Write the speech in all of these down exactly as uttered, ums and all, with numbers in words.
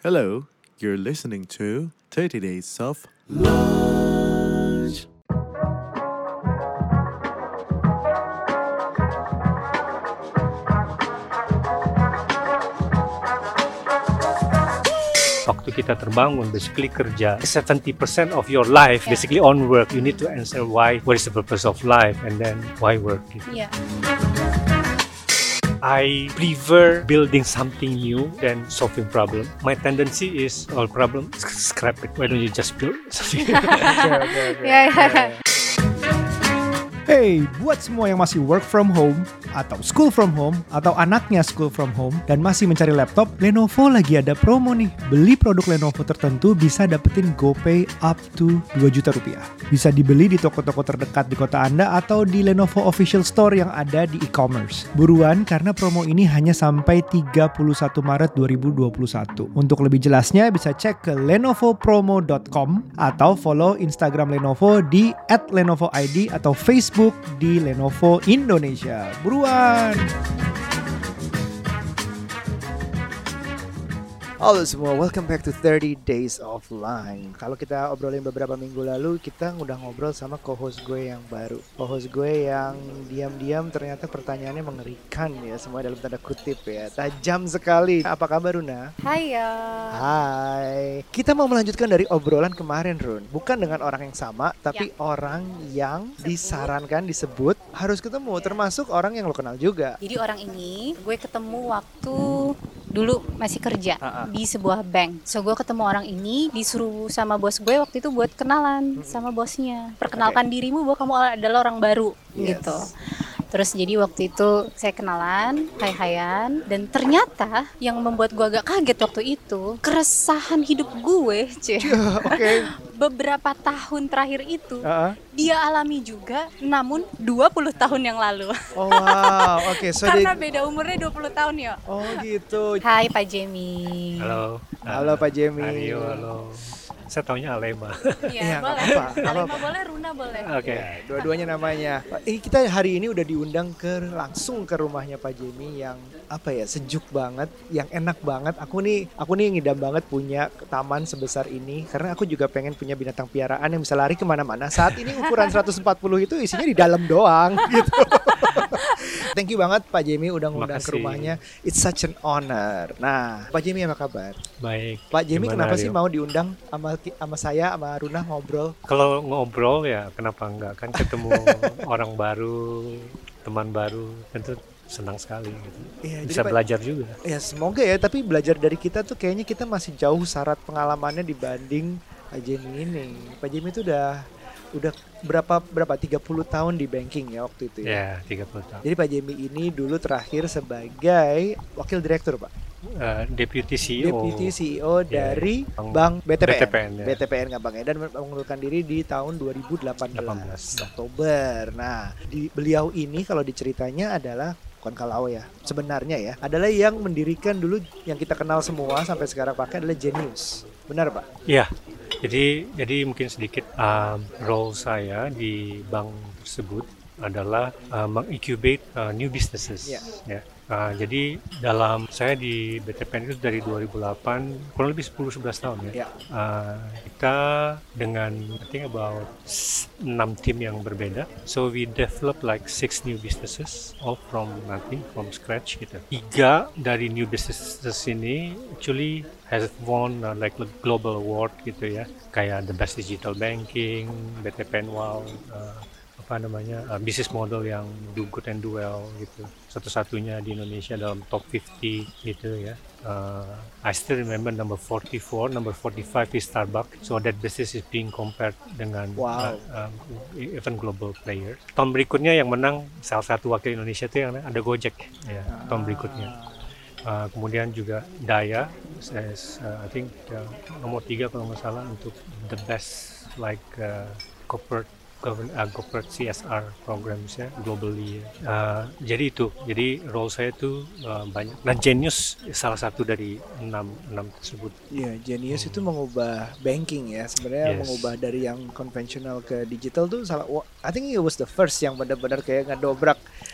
Hello, you're listening to thirty Days of Lunch. Waktu kita terbangun, basically kerja, seventy percent of your life Yeah. basically on work. You need to answer why, what is the purpose of life, and then why work. Gitu. Yeah. I prefer building something new than solving problem. My tendency is, all problem, scrap it. Why don't you just build something? Oke, oke, oke. Ya, ya. Hey, buat semua yang masih work from home atau school from home atau anaknya school from home dan masih mencari laptop, Lenovo lagi ada promo nih. Beli produk Lenovo tertentu bisa dapetin GoPay up to dua juta rupiah. Bisa dibeli di toko-toko terdekat di kota Anda atau di Lenovo Official Store yang ada di e-commerce. Buruan karena promo ini hanya sampai tiga puluh satu Maret dua ribu dua puluh satu. Untuk lebih jelasnya bisa cek ke lenovo promo dot com atau follow Instagram Lenovo di at lenovo I D atau Facebook di Lenovo Indonesia. Buruan! Halo semua, welcome back to thirty Days of Line. Kalau kita obrolin beberapa minggu lalu, kita udah ngobrol sama co-host gue yang baru. Co-host gue yang diam-diam ternyata pertanyaannya mengerikan ya, semua dalam tanda kutip ya. Tajam sekali. Apa kabar Runa? Hai ya. Hai. Kita mau melanjutkan dari obrolan kemarin Run. Bukan dengan orang yang sama, tapi orang yang disarankan, disebut harus ketemu. Termasuk orang yang lo kenal juga. Jadi orang ini gue ketemu waktu dulu masih kerja Ah, ah. di sebuah bank. So gue ketemu orang ini, disuruh sama bos gue waktu itu buat kenalan sama bosnya. Perkenalkan dirimu bahwa kamu adalah orang baru Yes. gitu. Terus jadi waktu itu saya kenalan, hai-haian, dan ternyata yang membuat gue agak kaget waktu itu, keresahan hidup gue, cie. Oke. Beberapa tahun terakhir itu Ah, ah. dia alami juga, namun dua puluh tahun yang lalu. Oh wow, oke. So Karena dia- beda umurnya dua puluh tahun ya. Oh gitu. Hai Pak Jamie. Halo. Halo Pak Jamie. Ario, halo. Saya taunya Alema. Iya, Iya, nggak boleh. apa-apa, nggak Alema apa-apa. boleh, Runa boleh. Oke. Ya, dua-duanya namanya. Eh, kita hari ini udah diundang ke langsung ke rumahnya Pak Jamie yang apa ya, sejuk banget, yang enak banget. Aku nih, aku nih ngidam banget punya taman sebesar ini karena aku juga pengen punya binatang piaraan yang bisa lari kemana-mana. Saat ini ukuran seratus empat puluh itu isinya di dalam doang gitu. Thank you banget Pak Jamie udah ngundang ke Makasih. rumahnya. It's such an honor. Nah, Pak Jamie apa kabar? Baik. Pak Jamie Gimana, kenapa sih Ario? mau diundang sama sama saya sama Runa ngobrol? Kalau ngobrol ya kenapa enggak, kan ketemu orang baru, teman baru, tentu senang sekali gitu. Iya, jadi Bisa Pak- belajar juga. Ya semoga ya, tapi belajar dari kita tuh kayaknya kita masih jauh syarat pengalamannya dibanding Pak Jamie ini. Pak Jamie itu udah udah berapa berapa tiga puluh tahun di banking ya waktu itu ya. Ya, tiga puluh tahun. Jadi Pak Jamie ini dulu terakhir sebagai wakil direktur Pak, Eh, Deputy C E O. Deputy C E O Ya, dari Bank- Bank B T P N, B T P N, ya. B T P N nggak Bang ya, dan mengundurkan diri di tahun dua ribu delapan belas delapan belas. Oktober. Nah, di beliau ini kalau diceritanya adalah bukan kalau ya, sebenarnya ya, adalah yang mendirikan dulu yang kita kenal semua sampai sekarang pakai adalah Genius. Benar Pak? Iya, jadi jadi mungkin sedikit um, role saya di bank tersebut adalah uh, meng-incubate uh, new businesses. Iya. Ya. Uh, jadi dalam saya di B T P N itu dari dua ribu delapan kurang lebih sepuluh sebelas tahun ya. Ya. Uh, kita dengan I think about enam tim yang berbeda. So we develop like six new businesses all from nothing, from scratch gitu. Tiga dari new businesses ini actually has won uh, like a global award gitu ya. Kayak the best digital banking, B T P N Wow, uh, apa namanya uh, business model yang do good and do well gitu, satu-satunya di Indonesia dalam top lima puluh gitu ya. uh, I still remember number forty-four, number forty-five is Starbucks, so that business is being compared dengan Wow. uh, um, even global player. Tahun berikutnya yang menang salah satu wakil Indonesia itu yang ada Gojek ya, tahun berikutnya. Uh, kemudian juga Daya, as, uh, I think uh, nomor tiga kalau nggak salah untuk the best like uh, corporate govern- uh, corporate C S R programs ya globally. Ya. Uh, jadi itu, jadi role saya itu uh, banyak. Nah, Genius salah satu dari enam enam tersebut. Iya, Genius itu mengubah banking ya. Sebenarnya Yes. mengubah dari yang konvensional ke digital tuh salah. wah, I think it was the first yang benar-benar kayak ngedobrak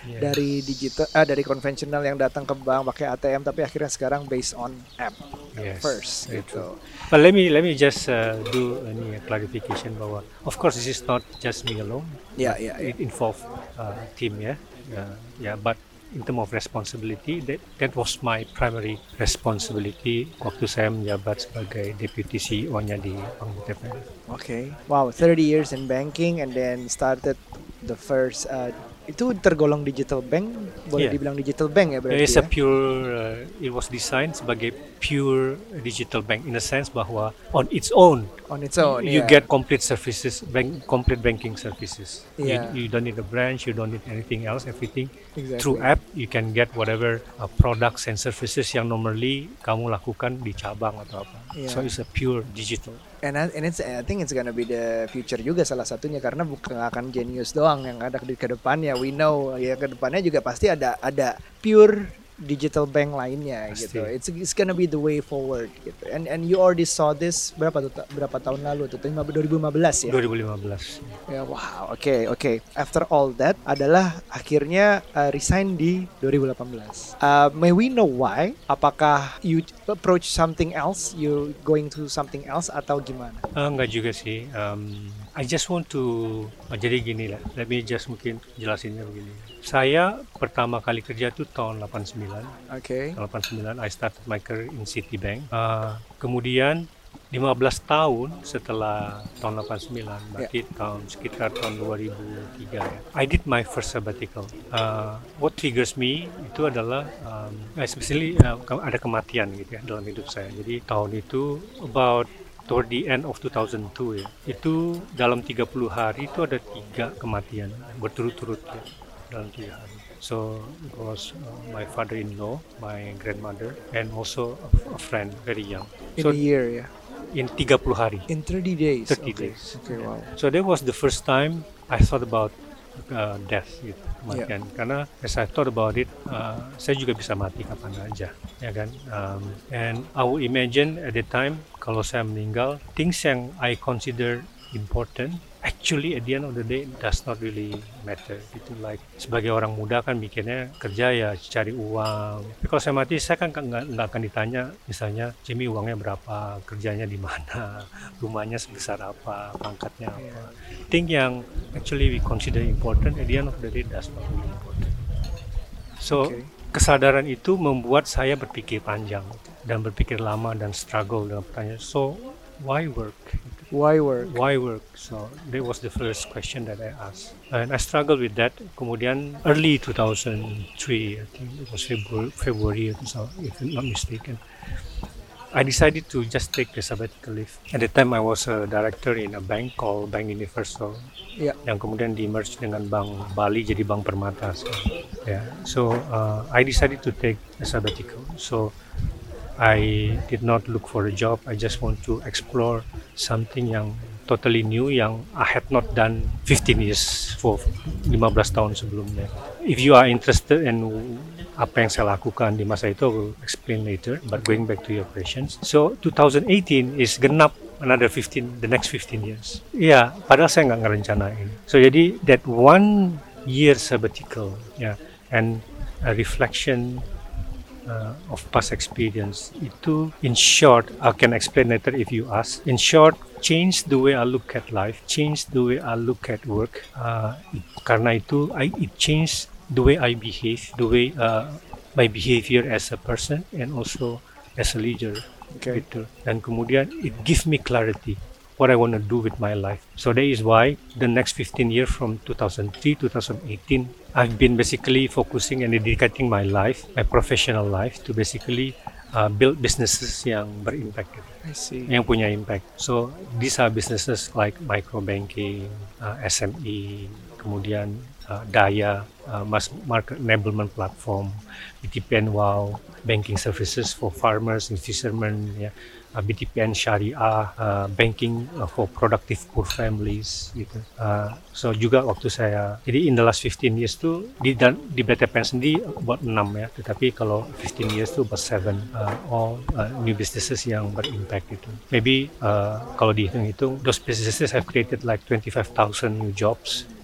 Yes. dari digital, ah, dari konvensional yang datang ke bank pakai A T M, tapi akhirnya sekarang based on app Yes, first very gitu. But let me let me just uh, do any clarification bahwa of course this is not just me alone. Ya, but ya, ya. It involve uh, team ya. Yeah, yeah, but in terms of responsibility, that that was my primary responsibility waktu saya menjabat sebagai deputy C E O-nya di Bank B T P N. Okay. Wow, thirty years in banking and then started the first uh, itu tergolong digital bank, boleh Yeah. dibilang digital bank ya berarti It's ya? a pure, uh, it was designed sebagai pure digital bank in a sense bahwa on its own On its own, you yeah. get complete services, bank, complete banking services. Yeah. You, you don't need a branch, you don't need anything else. Everything Exactly. through app you can get whatever uh, products and services yang normally kamu lakukan di cabang atau apa. Yeah. So it's a pure digital. And I, and it's I think it's gonna be the future juga salah satunya, karena bukan akan Genius doang yang ada di kedepannya. We know ya kedepannya juga pasti ada ada pure digital bank lainnya Pasti. gitu. It's it's gonna be the way forward gitu. And and you already saw this berapa tuh ta- berapa tahun lalu tuh? dua ribu lima belas ya. dua ribu lima belas. Ya wow, oke oke. After all that adalah akhirnya uh, resign di dua ribu delapan belas. Uh, may we know why? Apakah you approach something else? You going to something else atau gimana? Uh, enggak juga sih. Um, I just want to oh, jadi gini lah. Let me just mungkin jelasinnya begini. Saya pertama kali kerja tuh tahun delapan puluh sembilan. Oke. Tahun delapan puluh sembilan I started my career in Citibank. Uh, kemudian lima belas tahun setelah tahun delapan puluh sembilan, berarti tahun sekitar tahun dua ribu tiga ya. I did my first sabbatical. Uh, what triggers me itu adalah um, especially uh, ke- ada kematian gitu ya dalam hidup saya. Jadi tahun itu about toward the end of two thousand two ya. Itu dalam tiga puluh hari itu ada tiga kematian berturut-turut ya, dalam tiga hari. So it was uh, my father-in-law, my grandmother, and also a, a friend very young. In So a year ya. in tiga puluh hari. In thirty days. thirty Okay. days. Okay, wow. So that was the first time I thought about uh, death gitu, kematian. Karena as I thought about it, uh, saya juga bisa mati kapan aja, ya kan? Um, and I would imagine at the time kalau saya meninggal, things yang I consider important, actually at the end of the day does not really matter. Gitu, like sebagai orang muda kan mikirnya kerja ya cari uang. Tapi kalau saya mati, saya kan nggak nggak akan ditanya, misalnya Jimmy uangnya berapa, kerjanya di mana, rumahnya sebesar apa, pangkatnya apa. Thing yang actually we consider important at the end of the day does not really important. So Okay. kesadaran itu membuat saya berpikir panjang dan berpikir lama dan struggle dengan pertanyaan. So why work? Why work? Why work? So that was the first question that I asked, and I struggled with that. Kemudian early two thousand three, I think it was February, February so if I'm not mistaken, I decided to just take a sabbatical leave. At the time I was a director in a bank called Bank Universal, Ya. yang kemudian di merge dengan Bank Bali jadi Bank Permata. So, yeah. So uh, I decided to take a sabbatical. So I did not look for a job. I just want to explore something yang totally new yang I had not done fifteen years for lima belas tahun sebelumnya. If you are interested in apa yang saya lakukan di masa itu, I will explain later. But going back to your questions, so twenty eighteen is genap another fifteen, the next fifteen years. Ya, padahal saya nggak ngerencanain. So jadi that one year sabbatical, ya, yeah, and a reflection uh, of past experience itu, in short, I can explain later if you ask. In short, change the way I look at life, change the way I look at work. Uh, karena itu, I, it changed the way I behave, the way uh, my behavior as a person and also as a leader. Okay. Gitu. Dan kemudian it gives me clarity what I want to do with my life. So that is why the next fifteen years from two thousand three to twenty eighteen, I've been basically focusing and dedicating my life, my professional life, to basically uh, build businesses yang berimpact, gitu, I see. yang punya impact. So these are businesses like micro banking, uh, S M E, kemudian uh, Daya, uh, mass market enablement platform, B T P N Wow, banking services for farmers and fishermen, ya. Uh, B T P N Syariah, uh, banking uh, for productive poor families, gitu. Uh, so juga waktu saya, jadi in the last fifteen years tuh di dan di B T P N sendiri about enam ya, tetapi kalau fifteen years tuh about seven, uh, all uh, new businesses yang berimpact gitu. Maybe uh, kalau dihitung-hitung, those businesses have created like twenty-five thousand new jobs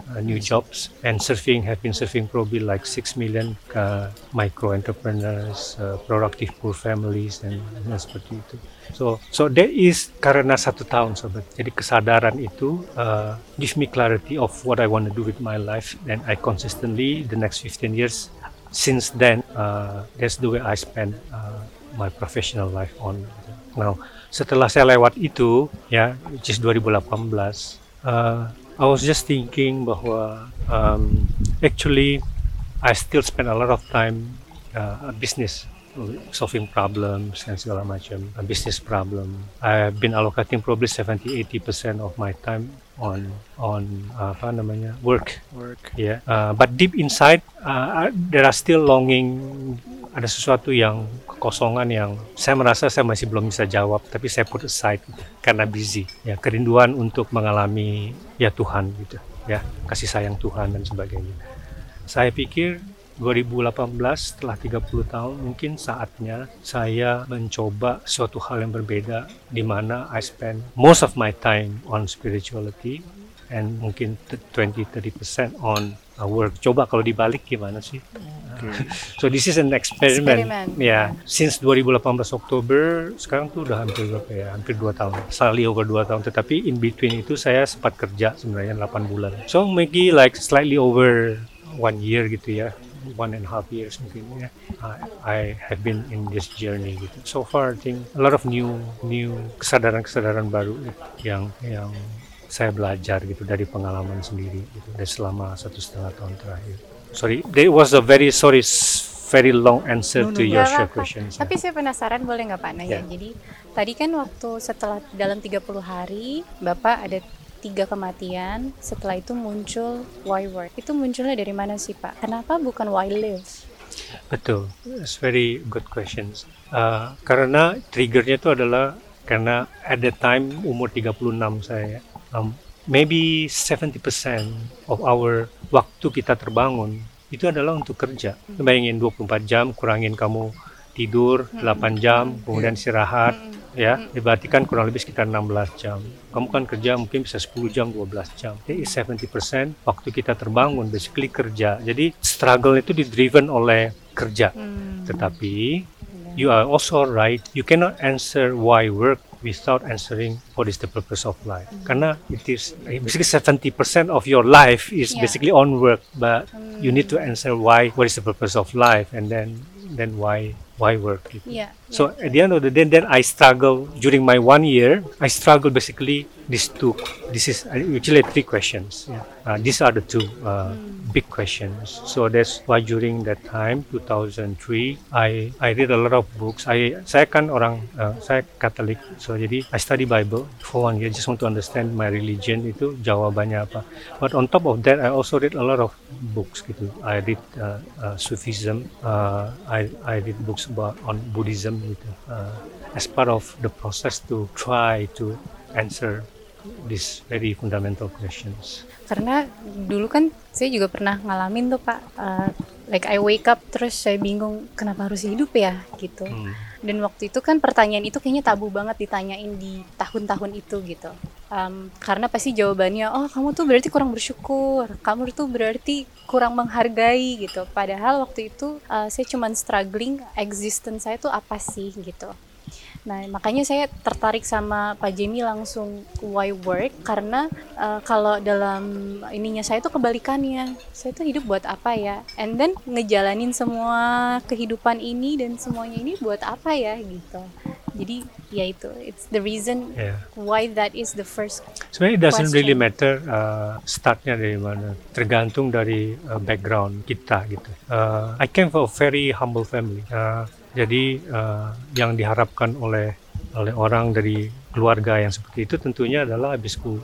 uh, new jobs, and surfing have been surfing probably like six million uh, micro entrepreneurs, uh, productive poor families, dan, dan seperti itu. So, so there is karena satu tahun sobat. Jadi kesadaran itu uh, give me clarity of what I want to do with my life, and I consistently the next fifteen years. Since then, uh, that's the way I spend uh, my professional life on. Now, setelah saya lewat itu, ya, which is dua ribu delapan belas, uh, I was just thinking bahwa um, actually I still spend a lot of time uh, business, solving problems and segala macam, a business problem. I've been allocating probably seventy to eighty percent of my time on on uh, apa namanya work. Work. Yeah. Uh, but deep inside, uh, there are still longing. Ada sesuatu yang kekosongan yang saya merasa saya masih belum bisa jawab, tapi saya put aside gitu, karena busy. Ya, kerinduan untuk mengalami ya Tuhan gitu, ya kasih sayang Tuhan dan sebagainya. Saya pikir dua ribu delapan belas setelah tiga puluh tahun mungkin saatnya saya mencoba suatu hal yang berbeda, di mana I spend most of my time on spirituality and mungkin twenty to thirty percent on uh, work. Coba kalau dibalik gimana sih? Okay. So this is an experiment. Eksperimen. Ya, yeah. Since dua ribu delapan belas Oktober, sekarang tuh udah hampir berapa ya? Hampir dua tahun. Slightly over dua tahun. Tetapi in between itu saya sempat kerja sebenarnya delapan bulan. So maybe like slightly over one year gitu ya. One and a half years mungkin ya. Uh, I have been in this journey gitu. So far I think a lot of new new kesadaran-kesadaran baru yang yang saya belajar gitu dari pengalaman sendiri gitu, dari selama satu setengah tahun terakhir. Sorry, there was a very sorry, very long answer No, no, to no. your Nggak apa-apa. questions. Tapi saya penasaran, boleh nggak Pak nanya? Ya. Jadi tadi kan waktu setelah dalam tiga puluh hari Bapak ada tiga kematian, setelah itu muncul why work. Itu munculnya dari mana sih Pak? Kenapa bukan why live? Betul, it's very good questions. Uh, karena triggernya itu adalah karena at the time umur tiga puluh enam saya, um, maybe seventy percent of our waktu kita terbangun itu adalah untuk kerja. Bayangin dua puluh empat jam, kurangin kamu tidur delapan jam, kemudian istirahat, ya, berarti kan kurang lebih sekitar enam belas jam. Kamu kan kerja mungkin bisa sepuluh jam, dua belas jam. Jadi seventy percent waktu kita terbangun basically kerja. Jadi struggle itu di-driven oleh kerja. Tetapi you are also right, you cannot answer why work without answering what is the purpose of life. Karena it is basically seventy percent of your life is Yeah. basically on work, but you need to answer why, what is the purpose of life, and then then why why work. Gitu. Iya. So at the end of the day, then I struggle during my one year. I struggle basically these two. This is actually three questions. Yeah. Uh, these are the two uh, big questions. So that's why during that time, two thousand three, I I read a lot of books. I saya kan orang uh, saya Katolik, so jadi I study Bible for one year. Just want to understand my religion itu jawabannya apa. But on top of that, I also read a lot of books gitu. I read uh, uh, Sufism. Uh, I I read books about on Buddhism gitu. Uh, as part of the process to try to answer these very fundamental questions. Karena dulu kan saya juga pernah ngalamin tuh Pak, uh, like I wake up terus saya bingung kenapa harus hidup ya gitu. Hmm. Dan waktu itu kan pertanyaan itu kayaknya tabu banget ditanyain di tahun-tahun itu gitu. Um, karena pasti jawabannya, oh kamu tuh berarti kurang bersyukur, kamu tuh berarti kurang menghargai gitu. Padahal waktu itu uh, saya cuman struggling existence saya tuh apa sih gitu. Nah makanya saya tertarik sama Pak Jamie langsung why work, karena uh, kalau dalam ininya saya tuh kebalikannya, saya tuh hidup buat apa ya, and then ngejalanin semua kehidupan ini dan semuanya ini buat apa ya gitu. Jadi ya itu, it's the reason Yeah. why that is the first. Sebenarnya it doesn't Question. really matter uh, startnya dari mana, tergantung dari uh, background kita gitu. Uh, I came from a very humble family. Uh, jadi uh, yang diharapkan oleh oleh orang dari keluarga yang seperti itu tentunya adalah habis ku,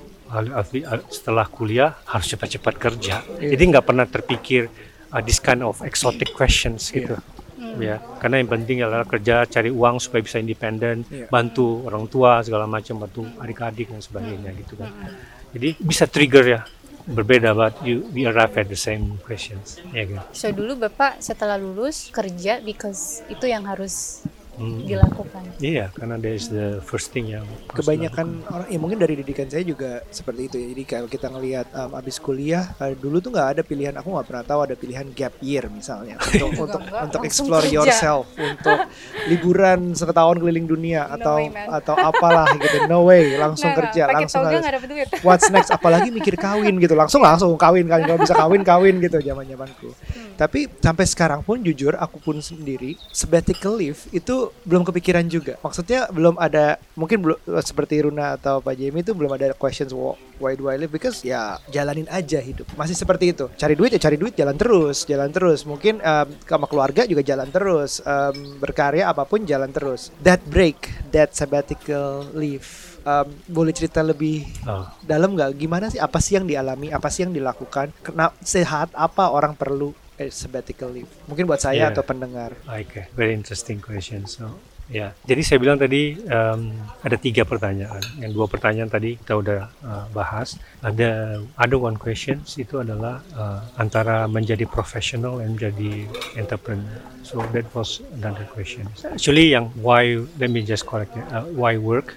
setelah kuliah harus cepat-cepat kerja. Yeah. Jadi nggak pernah terpikir uh, this kind of exotic questions gitu. Ya, karena yang penting adalah kerja, cari uang supaya bisa independen, Yeah. bantu orang tua segala macam, bantu adik-adik dan sebagainya gitu kan. Jadi bisa trigger ya, berbeda, but you we arrive at the same questions. Ya kan. So dulu Bapak setelah lulus kerja because itu yang harus Hmm. dilakukan. Iya, karena that is the first thing yang harus Kebanyakan dilakukan. orang ya mungkin dari didikan saya juga seperti itu ya. Jadi kalau kita ngelihat um, abis kuliah uh, dulu tuh nggak ada pilihan, aku nggak pernah tahu ada pilihan gap year misalnya untuk Juga untuk nggak, untuk langsung explore kerja. yourself, untuk liburan setahun keliling dunia No atau way, man. atau apalah gitu. No way, langsung Nggak, kerja, nggak, pakai langsung toga harus nggak dapet duit. what's next, apalagi mikir kawin gitu, langsung langsung kawin kawin kalau bisa kawin kawin gitu zaman zamanku. Hmm. Tapi sampai sekarang pun jujur aku pun sendiri sabbatical leave itu belum kepikiran juga. Maksudnya belum ada, mungkin belum seperti Runa atau Pak Jamie itu belum ada questions wh- why do I live, because ya jalanin aja hidup. Masih seperti itu. Cari duit ya cari duit, jalan terus, jalan terus. Mungkin um, sama keluarga juga jalan terus. Um, berkarya apapun jalan terus. That break, that sabbatical leave. Um, boleh cerita lebih Oh. dalam nggak? Gimana sih? Apa sih yang dialami? Apa sih yang dilakukan? Kena sehat apa orang perlu eh, sabbatical leave? Mungkin buat saya Yeah. atau pendengar. Okay, very interesting question. So, ya, jadi saya bilang tadi um, ada tiga pertanyaan. Yang dua pertanyaan tadi kita udah uh, bahas. Ada ada one questions itu adalah uh, antara menjadi professional dan menjadi entrepreneur. So that was another question. Actually, yang why, let me just correct it. Uh, why work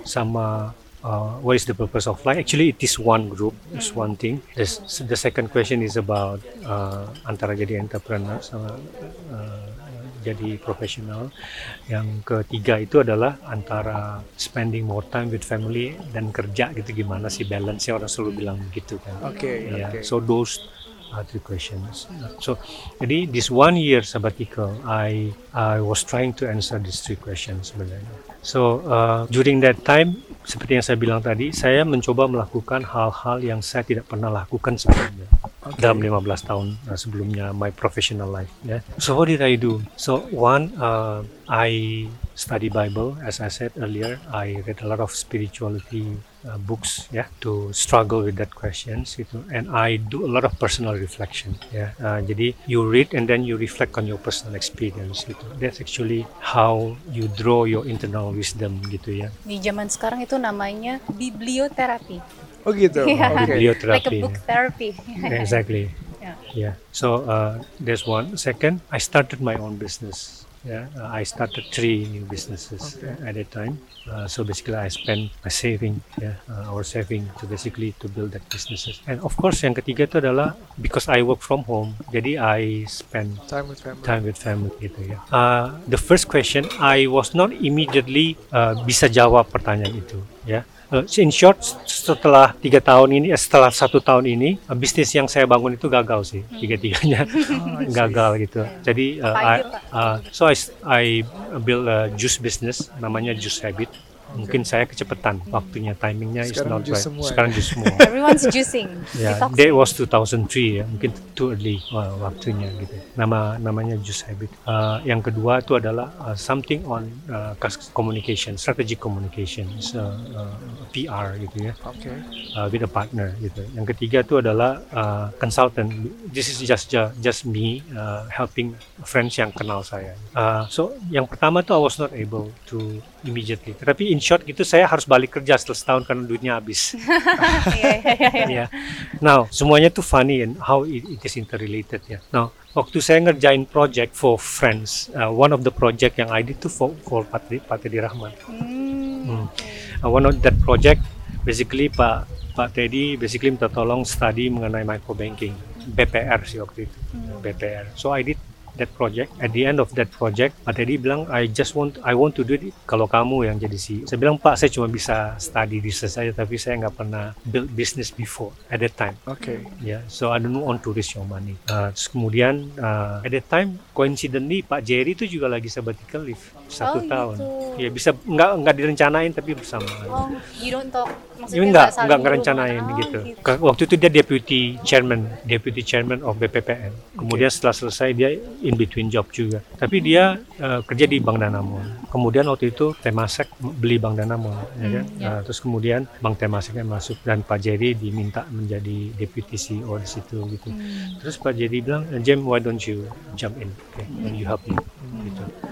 sama uh, what is the purpose of life? Actually, it is one group, it's one thing. The, s- the second question is about uh, antara jadi entrepreneur sama uh, jadi profesional. Yang ketiga itu adalah antara spending more time with family dan kerja gitu, gimana sih balance-nya, orang selalu bilang begitu kan. Oke, Yeah, oke. so those are three questions. So, jadi this one year sabbatical, I I was trying to answer these three questions sebenarnya. So uh, during that time, seperti yang saya bilang tadi, saya mencoba melakukan hal-hal yang saya tidak pernah lakukan sebelumnya. Oke. Dalam lima belas tahun uh, sebelumnya my professional life. Yeah. So what did I do? So one, uh, I study Bible, as I said earlier. I read a lot of spirituality uh, books, yeah, to struggle with that questions, gitu. And I do a lot of personal reflection, yeah. Uh, jadi you read and then you reflect on your personal experience, gitu. That's actually how you draw your internal wisdom, gitu ya. Di zaman sekarang itu namanya biblioterapi. Oh gitu. Iya. Oke. Biblioterapi. Like a book therapy. Exactly. Yeah. Yeah. So uh, there's one. Second, I started my own business. Yeah, uh, I started three new businesses Okay. at a time. Uh, so basically, I spent my saving, yeah, uh, our saving to basically to build that businesses. And of course, yang ketiga itu adalah because I work from home, jadi I spend Time with family. time with family gitu ya. Uh, the first question, I was not immediately uh, bisa jawab pertanyaan itu, ya. Uh, in short, setelah tiga tahun ini, eh, setelah satu tahun ini, uh, bisnis yang saya bangun itu gagal sih, tiga-tiganya gagal gitu. Jadi, uh, Apa I, aja, Pak? uh, so I, I build a juice business, namanya Juice Habit. Mungkin saya kecepatan, waktunya, timingnya is Sekarang not juice right. semua ya? Sekarang juice semua. Everyone's juicing. Ya, Detoxing. that was two thousand three ya, mungkin too early uh, waktunya gitu. Nama namanya Juice Habit. Uh, yang kedua itu adalah uh, something on uh, cus- communication, strategic communication, uh, uh, P R gitu ya, Oke. uh, with a partner gitu. Yang ketiga itu adalah uh, consultant. This is just just, just me uh, helping friends yang kenal saya. Uh, so yang pertama tuh I was not able to immediately. Tapi in short gitu saya harus balik kerja setelah setahun karena duitnya habis. Iya, iya, iya, iya. Ya. Now, semuanya tuh funny and how it, it is interrelated ya. Now, waktu saya ngerjain project for friends, uh, one of the project yang I did tuh for, for Pak Teddy, Pak Teddy Rahman. Hmm. Hmm. Uh, one of that project, basically Pak Pak Teddy basically minta tolong study mengenai microbanking, B P R sih waktu itu, B P R. So I did that project. At the end of that project, Pak Teddy bilang, I just want, I want to do it kalau kamu yang jadi C E O. Saya bilang, Pak, saya cuma bisa study research saja, tapi saya nggak pernah build business before at that time. Oke. Ya, yeah, so I don't want to risk your money. Uh, terus kemudian uh, at that time, coincidentally Pak Jerry itu juga lagi sabbatical leave satu Oh, tahun. gitu. Ya bisa nggak nggak direncanain tapi bersama. Oh, you don't talk. Ini Maksudnya enggak, saling enggak ngerencanain berhubungan. Oh, gitu. Ke- Waktu itu dia deputy chairman, deputy chairman of B P P N. Kemudian setelah selesai dia in between job juga. Tapi dia uh, kerja di Bank Danamon. Kemudian waktu itu Temasek beli Bank Danamon, ya kan? ya. Uh, terus kemudian Bank Temaseknya masuk dan Pak Jerry diminta menjadi deputy C E O di situ gitu. Terus Pak Jerry bilang, Jem, why don't you jump in, okay? And you help me gitu.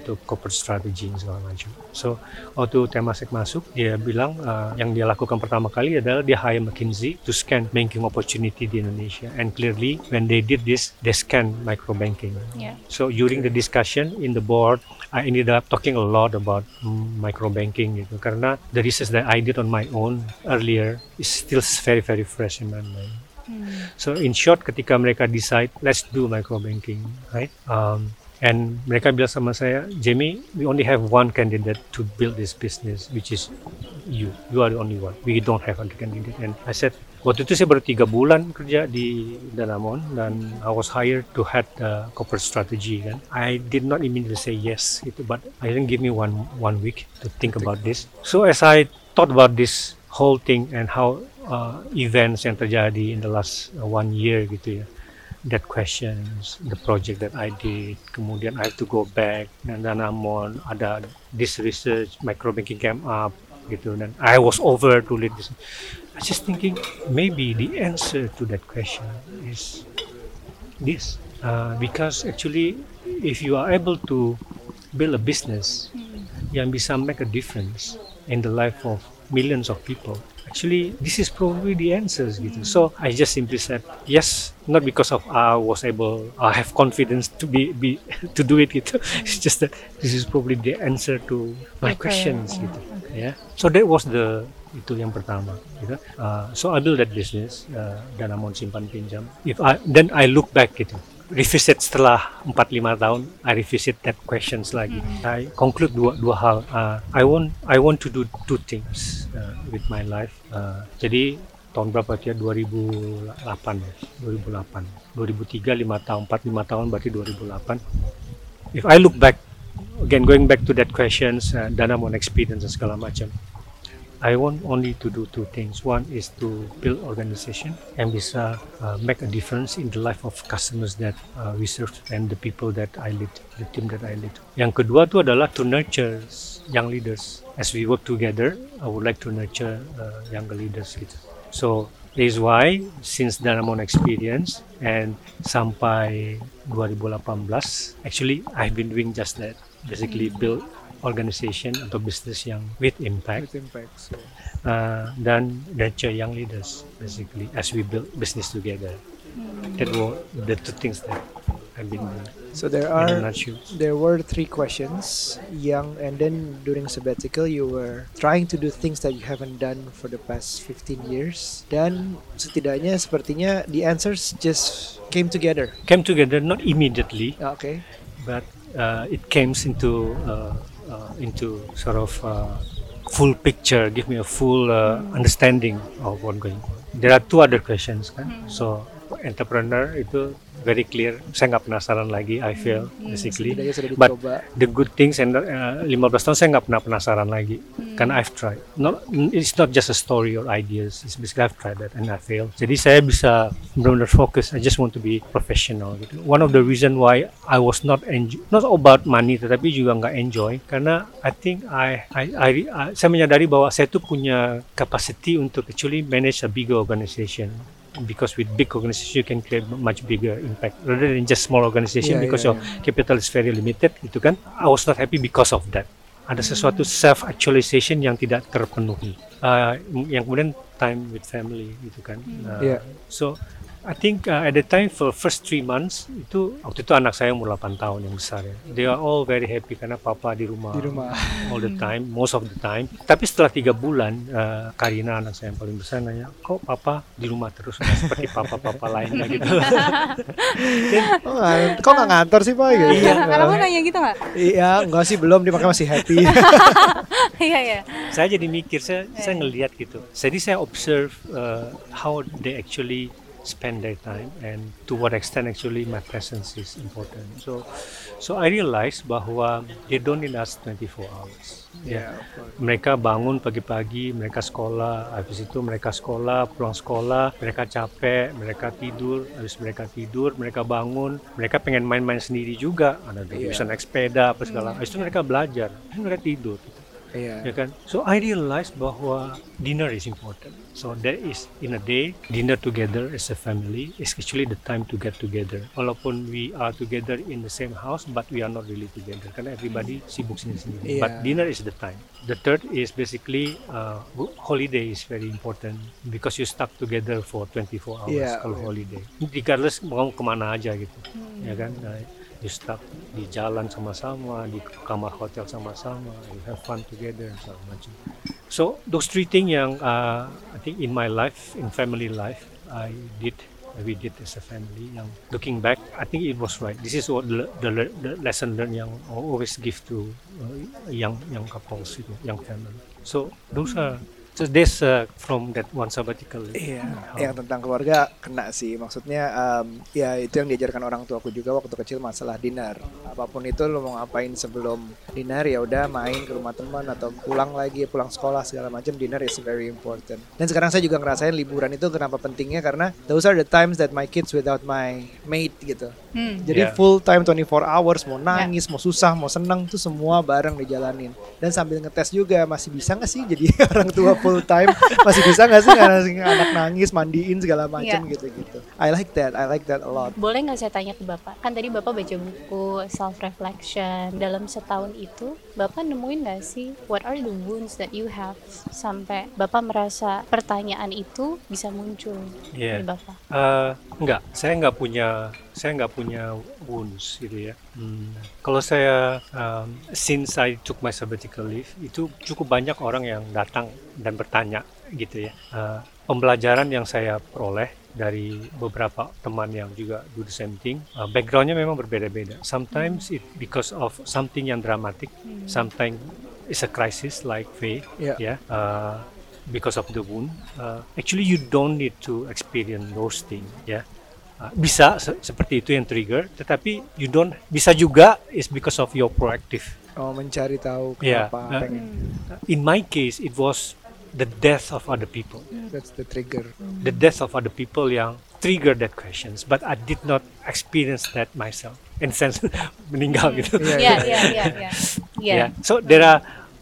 untuk corporate strategy segala macam. So waktu Temasek masuk, dia bilang uh, yang dia lakukan pertama kali adalah dia hire McKinsey to scan banking opportunity di Indonesia, and clearly when they did this, they scan micro banking. Yeah. So during the discussion in the board, I ended up talking a lot about mm, micro banking gitu, karena the research that I did on my own earlier is still very very fresh in my mind. Hmm. So in short, ketika mereka decide let's do micro banking, right? Um, and mereka bilang sama saya, Jamie, we only have one candidate to build this business, which is you. You are the only one. We don't have other candidate. And I said, waktu itu saya baru tiga bulan kerja di Danamon dan I was hired to head the corporate strategy kan. I did not immediately say yes, gitu, but I didn't give me one one week to think about this. So as I thought about this whole thing and how uh, events yang terjadi in the last uh, one year gitu ya, that questions, the project that I did, kemudian I have to go back dan Danamon ada this research, micro banking came up gitu, dan I was over to lead this. I was just thinking maybe the answer to that question is this, uh, because actually if you are able to build a business yang bisa make a difference in the life of millions of people, actually this is probably the answers gitu. So I just simply said yes, not because of I was able, I have confidence to be, be to do it gitu. It's just that this is probably the answer to my Okay, questions yeah. gitu. Yeah. So that was the itu yang pertama gitu. Uh, so I built that business, uh, Danamon simpan pinjam. If I then I look back gitu, revisit setelah empat lima tahun, I revisit that questions lagi. I conclude dua dua hal. Uh, I want I want to do two things uh, with my life. Uh, jadi tahun berapa ya? dua ribu delapan ya. dua ribu delapan. dua ribu tiga lima tahun, empat lima tahun berarti dua ribu delapan. If I look back again, going back to that questions, uh, Danamon experience dan segala macam. I want only to do two things. One is to build organization yang bisa uh, make a difference in the life of customers that uh, we serve and the people that I lead, the team that I lead. Yang kedua tu adalah to nurture young leaders. As we work together, I would like to nurture uh, younger leaders gitu. So this is why since Danamon experience and sampai dua ribu lapan belas, actually I've been doing just that. Basically build organization atau business yang with impact, With impact, so. uh, dan nurture young leaders basically as we build business together. That were the two things that I've been doing. So there In a are nutshell. there were three questions, young, and then during sabbatical you were trying to do things that you haven't done for the past fifteen years. Dan setidaknya sepertinya the answers just came together. Came together not immediately, Ah, Okay. but uh, it came into uh, uh, into sort of uh, full picture, give me a full uh, understanding of what going on. There are two other questions kan. So entrepreneur itu very clear, saya nggak penasaran lagi, I feel basically. Setidaknya sudah But dicoba. the good things and uh, lima belas tahun saya nggak pernah penasaran lagi, karena I've tried. Not, it's not just a story or ideas, it's basically I've tried that and I failed. Jadi saya bisa benar-benar fokus. I just want to be professional gitu. One of the reason why I was not enjoy, not about money, tetapi juga nggak enjoy, karena I think I, I, I, I saya menyadari bahwa saya tuh punya capacity untuk actually manage a bigger organization. Because with big organization you can create much bigger impact rather than just small organization, Yeah, because yeah, your capital is very limited gitu kan. I was not happy because of that. Ada sesuatu self actualization yang tidak terpenuhi. Uh, yang kemudian time with family gitu kan. Uh, Yeah. So I think uh, at the time for first three months itu, waktu itu anak saya umur delapan tahun yang besar ya. They are all very happy karena papa di rumah, Di rumah. all the time, most of the time. Tapi setelah tiga bulan, uh, Karina anak saya yang paling besar nanya, kok papa di rumah terus nggak seperti papa-papa lainnya gitu. Oh, nggak- kok nggak ngantor sih Pak? Gitu. Iya, kamu nanya gitu nggak? Iya, enggak sih belum, dia makanya masih happy. Iya, iya. Saya jadi mikir, saya saya ngelihat gitu. Jadi saya observe uh, how they actually spend their time and to what extent actually my presence is important. So so I realize bahwa they don't need us twenty-four hours. Ya. Mereka bangun pagi-pagi, mereka sekolah, habis itu mereka sekolah, pulang sekolah, mereka capek, mereka tidur, habis mereka tidur, mereka bangun, mereka pengen main-main sendiri juga, ada bisa naik sepeda apa segala. Habis itu mereka belajar, habis itu mereka tidur. Iya. ya kan? So I realized bahwa dinner is important. So there is in a day dinner together as a family is actually the time to get together. Walaupun we are together in the same house, but we are not really together karena everybody sibuk sendiri-sendiri. Iya. But dinner is the time. The third is basically uh, holiday is very important because you stuck together for twenty-four hours Iya, kalau iya. holiday. Regardless mau kemana aja gitu, ya kan? Nah, you stuck di jalan sama-sama, di kamar hotel sama-sama, you have fun together, segala macam. So those three things yang uh, I think in my life, in family life, I did, we did as a family. Yang looking back, I think it was right. This is what the, the, the lesson learned yang I always give to uh, young young couples, itu, young family. So those are so this uh, from that one sabbatical. Iya, How- yang tentang keluarga kena sih. Maksudnya um, ya itu yang diajarkan orang tuaku juga waktu kecil masalah dinner. Apapun itu lo mau ngapain sebelum dinner ya udah main ke rumah teman atau pulang lagi, pulang sekolah segala macam, dinner is very important. Dan sekarang saya juga ngerasain liburan itu kenapa pentingnya karena those are the times that my kids without my mate gitu. Hmm. Jadi Yeah. full time twenty-four hours, mau nangis, mau susah, mau senang tuh semua bareng dijalanin. Dan sambil ngetes juga masih bisa nggak sih jadi orang tua full time, masih bisa nggak sih ngasih anak nangis, mandiin segala macam Yeah. gitu-gitu. I like that, I like that a lot. Boleh nggak saya tanya ke Bapak? Kan tadi Bapak baca buku self reflection. Dalam setahun itu, Bapak nemuin nggak sih what are the wounds that you have sampai Bapak merasa pertanyaan itu bisa muncul Yeah. di Bapak? Uh, enggak, saya nggak punya, saya nggak punya wounds gitu ya. Hmm. Kalau saya, um, since I took my sabbatical leave, itu cukup banyak orang yang datang dan bertanya gitu ya. Uh, pembelajaran yang saya peroleh dari beberapa teman yang juga do the same thing, uh, backgroundnya memang berbeda-beda. Sometimes it because of something yang dramatic, sometimes it's a crisis like Faye, Yeah. ya. Uh, because of the wound, uh, actually you don't need to experience those things, ya. Uh, bisa se- seperti itu yang trigger, tetapi you don't, bisa juga is because of your proactive. Oh, mencari tahu Yeah. kenapa Uh, pengen. In my case, it was the death of other people, That's the trigger. the death of other people yang trigger that questions, but I did not experience that myself. In sense meninggal gitu. Iya, Iya, iya. iya, iya, iya. Iya. Yeah. So there are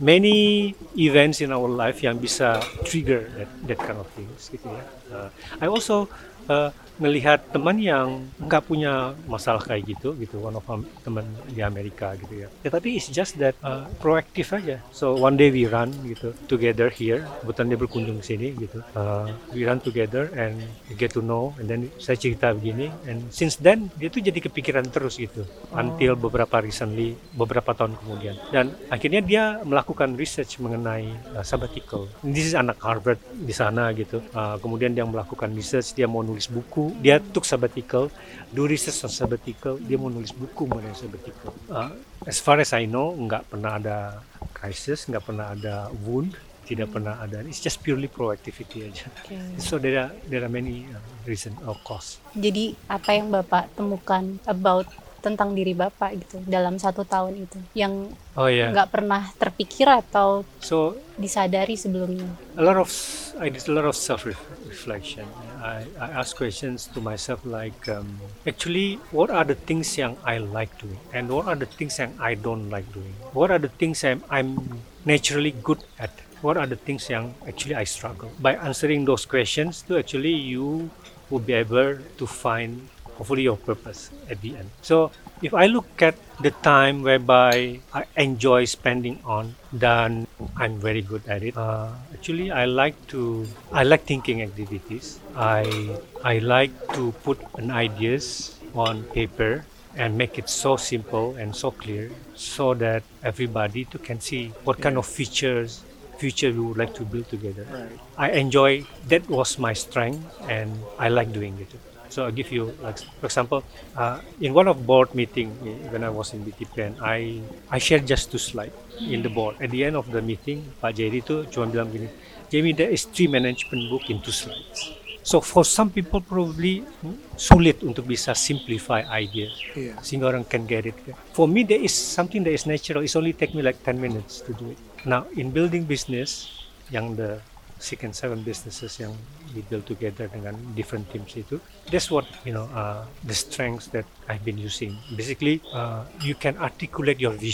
many events in our life yang bisa trigger that, that kind of things gitu ya. Uh, I also uh, melihat teman yang nggak punya masalah kayak gitu gitu, one of am- teman di Amerika gitu ya. Tetapi it's just that uh, proaktif aja. So one day we run gitu together here. Kebetulan dia berkunjung ke sini gitu. Uh, we run together and we get to know. And then saya cerita begini. And since then dia tuh jadi kepikiran terus gitu. Until beberapa recently, beberapa tahun kemudian. Dan akhirnya dia melakukan research mengenai uh, sabbatical. This is anak Harvard di sana gitu. Uh, kemudian dia melakukan research, dia mau nulis buku. Dia took sabbatical, do research on sabbatical, dia mau nulis buku mengenai sabbatical. Uh, as far as I know, nggak pernah ada crisis, nggak pernah ada wound, tidak pernah ada. It's just purely proactivity aja. Oke. So there are there are many uh, reason or cause. Jadi apa yang Bapak temukan about tentang diri Bapak gitu dalam satu tahun itu yang Oh yeah. nggak pernah terpikir atau So disadari sebelumnya? a lot of I did a lot of self reflection. I, I ask questions to myself like, um, actually, what are the things yang I like doing, and what are the things yang I don't like doing? What are the things I'm, I'm naturally good at? What are the things yang actually I struggle? By answering those questions, to actually you will be able to find hopefully your purpose at the end. So if I look at the time whereby I enjoy spending on, then I'm very good at it. Uh, actually, I like to I like thinking activities. I I like to put an ideas on paper and make it so simple and so clear, so that everybody too can see what kind of features future we would like to build together. Right. I enjoy, that was my strength, and I like doing it. So I'll give you, like, for example, uh, in one of board meeting eh, when I was in B T P N, I I shared just two slides in the board. At the end of the meeting, Pak Jerry itu cuma bilang gini, Jamie, there is three management book in two slides. So for some people probably hmm, sulit untuk bisa simplify idea Iya. sehingga orang can get it. For me, there is something that is natural. It's only take me like ten minutes to do it. Now in building business, yang the six and seven businesses yang we build together dengan different teams itu, that's what you know uh, the strengths that I've been using. Basically, uh, you can articulate your vision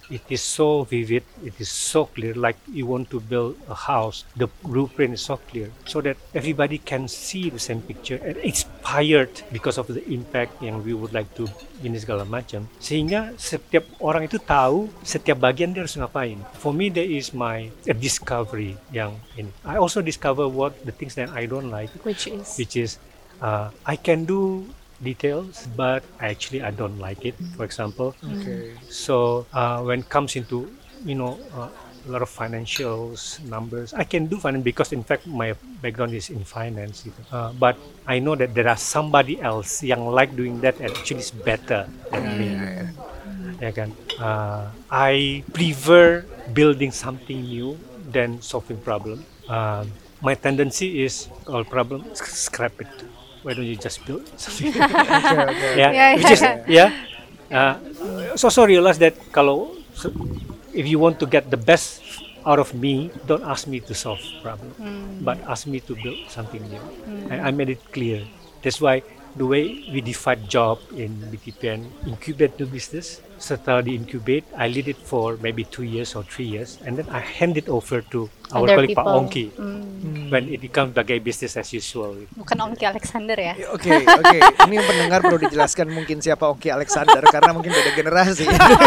it is so vivid, it is so clear, like you want to build a house, the blueprint is so clear, so that everybody can see the same picture and inspired because of the impact yang we would like to ini segala macam, sehingga setiap orang itu tahu setiap bagian dia harus ngapain. For me, there is my a discovery yang ini. I also discover what the things that I don't like, Which is which is uh, I can do details, but actually I don't like it. For example, Okay. so uh, when it comes into you know uh, a lot of financials numbers, I can do finance because in fact my background is in finance. Gitu. Uh, but I know that there are somebody else yang like doing that and actually is better than me. Ya kan? Uh, I prefer building something new than solving problem. Uh, my tendency is all problem scrap it. Why don't you just build something? Okay, okay. yeah, Yeah, which is yeah. yeah. Uh, so so realize that kalau so, if you want to get the best out of me, don't ask me to solve problem, but ask me to build something new. And I made it clear. That's why the way we divide job in B T P N, incubate new business. Setelah di incubate, I lead it for maybe two years or three years, and then I hand it over to our Other colleague Pak people. Ongki Hmm. when it becomes sebagai business as usual. bukan Ongki Alexander ya. Oke, oke. Ini yang pendengar perlu dijelaskan mungkin siapa Ongki Alexander karena mungkin beda generasi.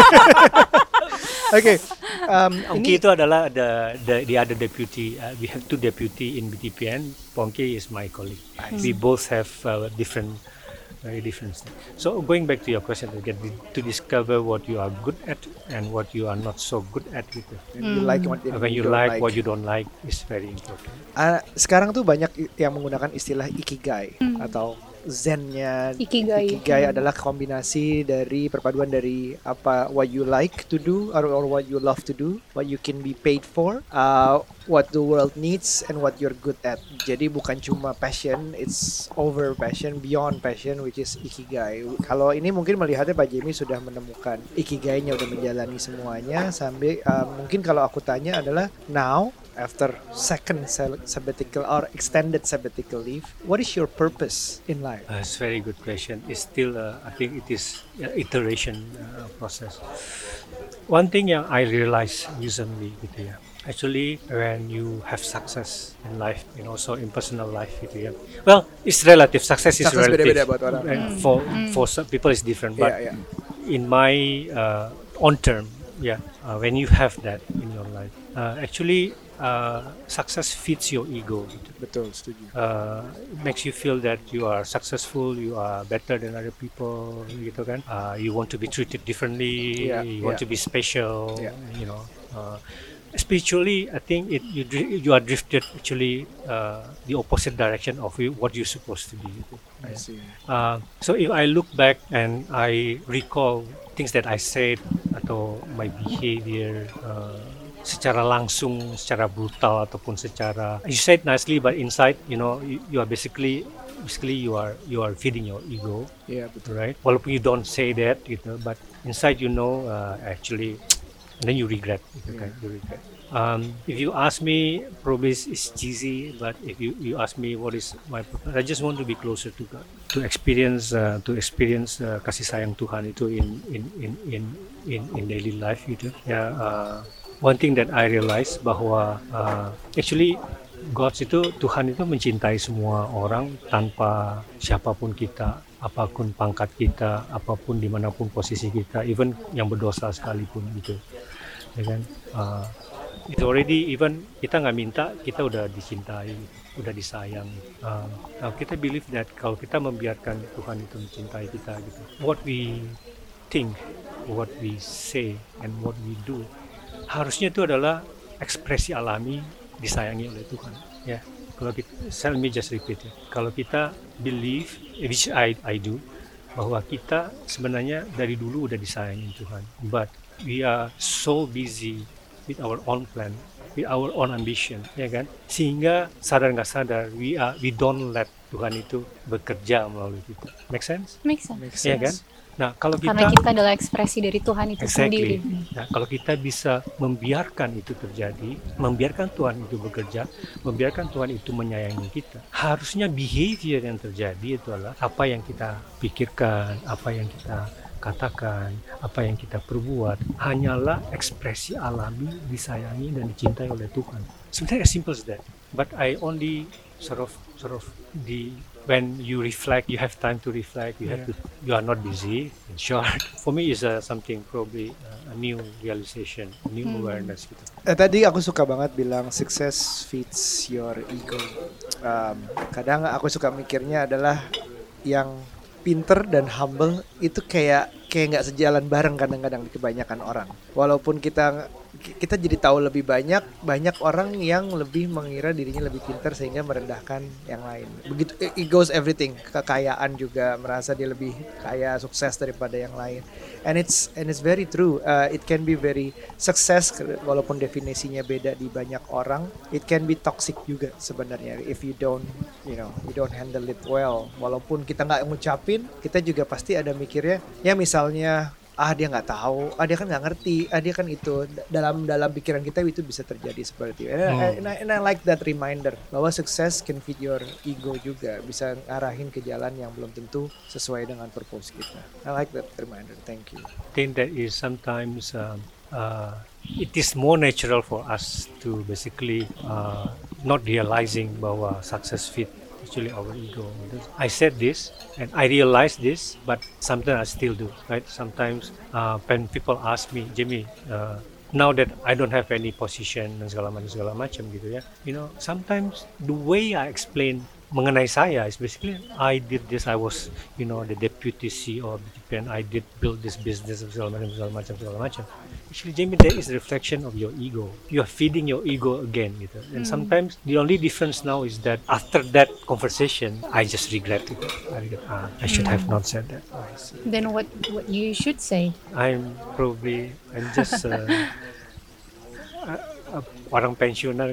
Oke, um, Ongki ini itu adalah the, the the other deputy. Uh, we have two deputy in B T P N. Pongki is my colleague. We both have uh, different, very different. Things. So going back to your question again, to discover what you are good at and what you are not so good at, gitu. you like what Uh, when you don't like, what you don't like is very important. Ah, sekarang tuh banyak i- yang menggunakan istilah ikigai atau zennya. Ikigai. Ikigai adalah kombinasi dari perpaduan dari apa what you like to do or, or what you love to do, what you can be paid for, uh, what the world needs and what you're good at. Jadi bukan cuma passion, it's over passion, beyond passion, which is ikigai. Kalau ini mungkin melihatnya Pak Jamie sudah menemukan ikigainya, udah menjalani semuanya sampai uh, mungkin kalau aku tanya adalah now after second sal- sabbatical or extended sabbatical leave, what is your purpose in life? Uh, it's a very good question. It's still, uh, I think it is uh, iteration uh, process. One thing yang I realize recently, gitu ya. Actually, when you have success in life and also in personal life, gitu ya. Well, it's relative. Success is Success relative. beda-beda buat orang. And for for some people, it's different. But Yeah, yeah. in my uh, on term, yeah, uh, when you have that in your life, uh, actually, uh, success feeds your ego. Gitu. Betul, setuju. Uh, it makes you feel that you are successful, you are better than other people, gitu kan? Uh, you want to be treated differently, Yeah, you want yeah. to be special, Yeah. you know. Uh, spiritually, I think it you dri- you are drifted actually uh, the opposite direction of you, what you're supposed to be. Gitu. I see. Uh, so if I look back and I recall things that I said atau my behavior uh, secara langsung, secara brutal ataupun secara you said nicely but inside you know you, you are basically basically you are you are feeding your ego, Iya, betul. right? Walaupun you don't say that gitu, but inside you know uh, actually and then you regret gitu kan, you regret. Um, if you ask me, probably it's, it's cheesy, but if you, you ask me what is my purpose, I just want to be closer to God, to experience uh, to experience uh, kasih sayang Tuhan itu in in in in in, in daily life gitu. Ya, uh, one thing that I realize bahwa uh, actually God itu Tuhan itu mencintai semua orang tanpa siapapun kita, apapun pangkat kita, apapun dimanapun posisi kita, even yang berdosa sekalipun gitu, ya kan? Uh, itu already even kita nggak minta kita udah dicintai, udah disayang. Uh, now kita believe that kalau kita membiarkan Tuhan itu mencintai kita gitu, what we think, what we say, and what we do, harusnya itu adalah ekspresi alami disayangi oleh Tuhan. Ya, kalau kita, let me just repeat ya. Kalau kita believe, which I I do, bahwa kita sebenarnya dari dulu udah disayangi Tuhan, but we are so busy with our own plan, with our own ambition, ya kan? Sehingga sadar nggak sadar, we are we don't let Tuhan itu bekerja melalui kita. Make sense? Make sense. Makes Ya sense. kan? Nah, kalau Karena kita kita adalah ekspresi dari Tuhan itu sendiri. exactly. Nah, kalau kita bisa membiarkan itu terjadi, membiarkan Tuhan itu bekerja, membiarkan Tuhan itu menyayangi kita, harusnya behavior yang terjadi itu adalah apa yang kita pikirkan, apa yang kita katakan, apa yang kita perbuat hanyalah ekspresi alami, disayangi dan dicintai oleh Tuhan. Sebenarnya as simple as that. But I only sort of sort of the when you reflect, you have time to reflect. You have Yeah. to. You are not busy. In short, for me is uh, something probably uh, a new realization, a new Hmm. awareness gitu. Eh, tadi aku suka banget bilang success feeds your ego. Um, kadang aku suka mikirnya adalah yang pinter dan humble itu kayak kayak nggak sejalan bareng kadang-kadang di kebanyakan orang. Walaupun kita kita jadi tahu lebih banyak, banyak orang yang lebih mengira dirinya lebih pintar sehingga merendahkan yang lain. Begitu it goes everything, kekayaan juga merasa dia lebih kaya, sukses daripada yang lain. And it's and it's very true. Uh, it can be very success walaupun definisinya beda di banyak orang. It can be toxic juga sebenarnya if you don't, you know, you don't handle it well. Walaupun kita nggak ngucapin, kita juga pasti ada mikirnya. Ya misalnya, ah dia nggak tahu, ah dia kan nggak ngerti, ah dia kan itu. Dalam dalam pikiran kita itu bisa terjadi seperti itu. And, I, and, I, and I like that reminder bahwa sukses can feed your ego juga, bisa ngarahin ke jalan yang belum tentu sesuai dengan purpose kita. I like that reminder. Thank you. I think that is sometimes um, uh, it is more natural for us to basically uh, not realizing bahwa success fit actually our ego. I said this and I realized this, but sometimes I still do. Right? Sometimes uh, when people ask me, Jimmy, uh, now that I don't have any position dan segala macam segala macam gitu ya, you know, sometimes the way I explain mengenai saya is basically I did this, I was, you know, the deputy C E O of B T P and I did build this business segala macam segala macam segala macam. Actually, Jamie, that is a reflection of your ego. You are feeding your ego again, gitu. And Hmm. sometimes the only difference now is that after that conversation, I just regret it. I regret, ah, I should have not said that. Oh, I see. Then what what you should say? I'm probably, I'm just uh, uh, uh, orang pensiunan.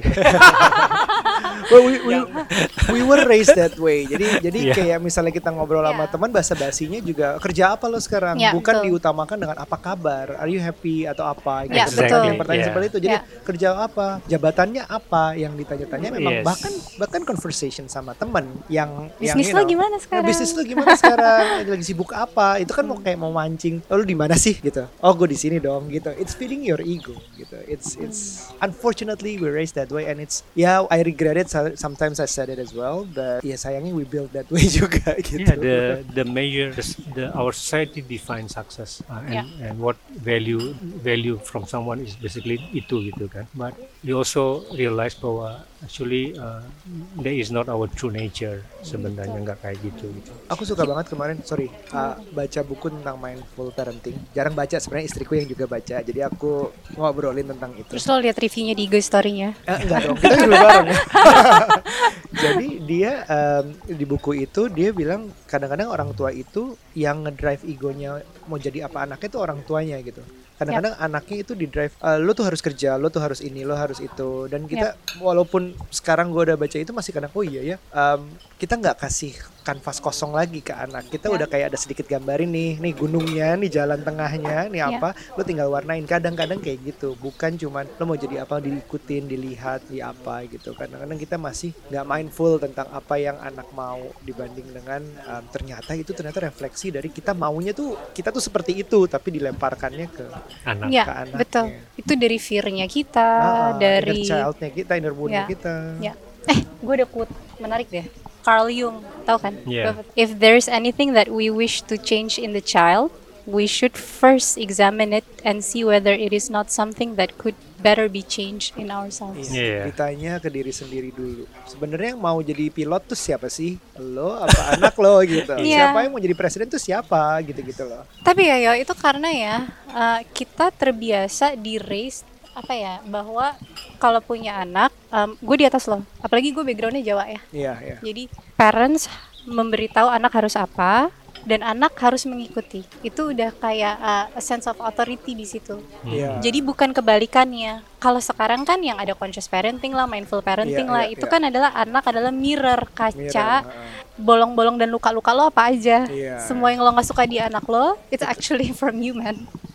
Well, we, we, we were raised that way. Jadi jadi Yeah. kayak misalnya kita ngobrol sama Yeah. teman, basa-basinya juga kerja apa lo sekarang, Yeah, bukan betul. diutamakan dengan apa kabar, are you happy atau apa gitu. Yeah, Seperti betul. yang pertanyaan Yeah. seperti itu. Jadi Yeah. kerja apa, jabatannya apa yang ditanya-tanya memang Yes. bahkan bahkan conversation sama teman yang yang, Bisnis you lo know, gimana "Ya, sekarang?" bisnis lo gimana sekarang? Lagi sibuk apa? Itu kan mau kayak mau mancing. Oh, lu di mana sih gitu. Oh, gue di sini dong gitu. It's feeding your ego gitu. It's it's unfortunately we raised that way and it's yeah, I regret it. So- Sometimes I said it as well, but ya sayangnya we build that way juga gitu. Yeah, the the measure, the, the our society defines success uh, and and what value value from someone is basically itu gitu kan. But we also realize bahwa actually uh, that is not our true nature sebenarnya, nggak kayak gitu gitu. Aku suka banget kemarin, sorry, uh, baca buku tentang mindful parenting. Jarang baca, sebenarnya istriku yang juga baca. Jadi aku ngobrolin tentang itu. Terus lo lihat reviewnya di I G story-nya? Eh, enggak dong, kita dulu bareng. Jadi dia um, di buku itu dia bilang kadang-kadang orang tua itu yang ngedrive egonya mau jadi apa anaknya itu orang tuanya gitu. Kadang-kadang anaknya itu di drive, "Eh, lo tuh harus kerja, lo tuh harus ini, lo harus itu. Dan kita walaupun sekarang gue udah baca itu masih kadang, oh iya ya, um, kita nggak kasih kanvas kosong lagi ke anak. Kita Ya. udah kayak ada sedikit gambarin nih, nih gunungnya, nih jalan tengahnya, nih Ya. apa, lo tinggal warnain. Kadang-kadang kayak gitu, bukan cuman lo mau jadi apa diikutin, dilihat, di apa gitu. Kadang-kadang kita masih nggak mindful tentang apa yang anak mau dibanding dengan um, ternyata itu ternyata refleksi dari kita maunya tuh kita tuh seperti itu, tapi dilemparkannya ke Anak. Iya, ke anaknya. betul. Itu dari fear-nya kita, Ah, dari inner child-nya kita, inner wound-nya Ya. kita. Ya. Eh, gue ada quote menarik deh. Carl Jung, tahu kan? Yeah. If there's anything that we wish to change in the child, we should first examine it and see whether it is not something that could better be changed in ourselves. Iya. Ditanya ke diri sendiri dulu. Sebenarnya yang mau jadi pilot tuh siapa sih? Lo apa anak lo gitu. Iya. Siapa yang mau jadi presiden tuh siapa gitu-gitu loh. Tapi ya, yo, itu karena ya uh, kita terbiasa di raise apa ya, bahwa kalau punya anak, um, gue di atas lo. Apalagi gue backgroundnya Jawa ya. Iya, iya. Jadi parents memberitahu anak harus apa dan anak harus mengikuti. Itu udah kayak uh, a sense of authority di situ. Iya. Jadi bukan kebalikannya. Kalau sekarang kan yang ada conscious parenting lah, mindful parenting Iya, lah, iya, itu iya. kan adalah anak adalah mirror, kaca, Mirror, heeh. bolong-bolong dan luka-luka lo apa aja. Iya. Semua yang lo nggak suka di anak lo, it's actually from you, man.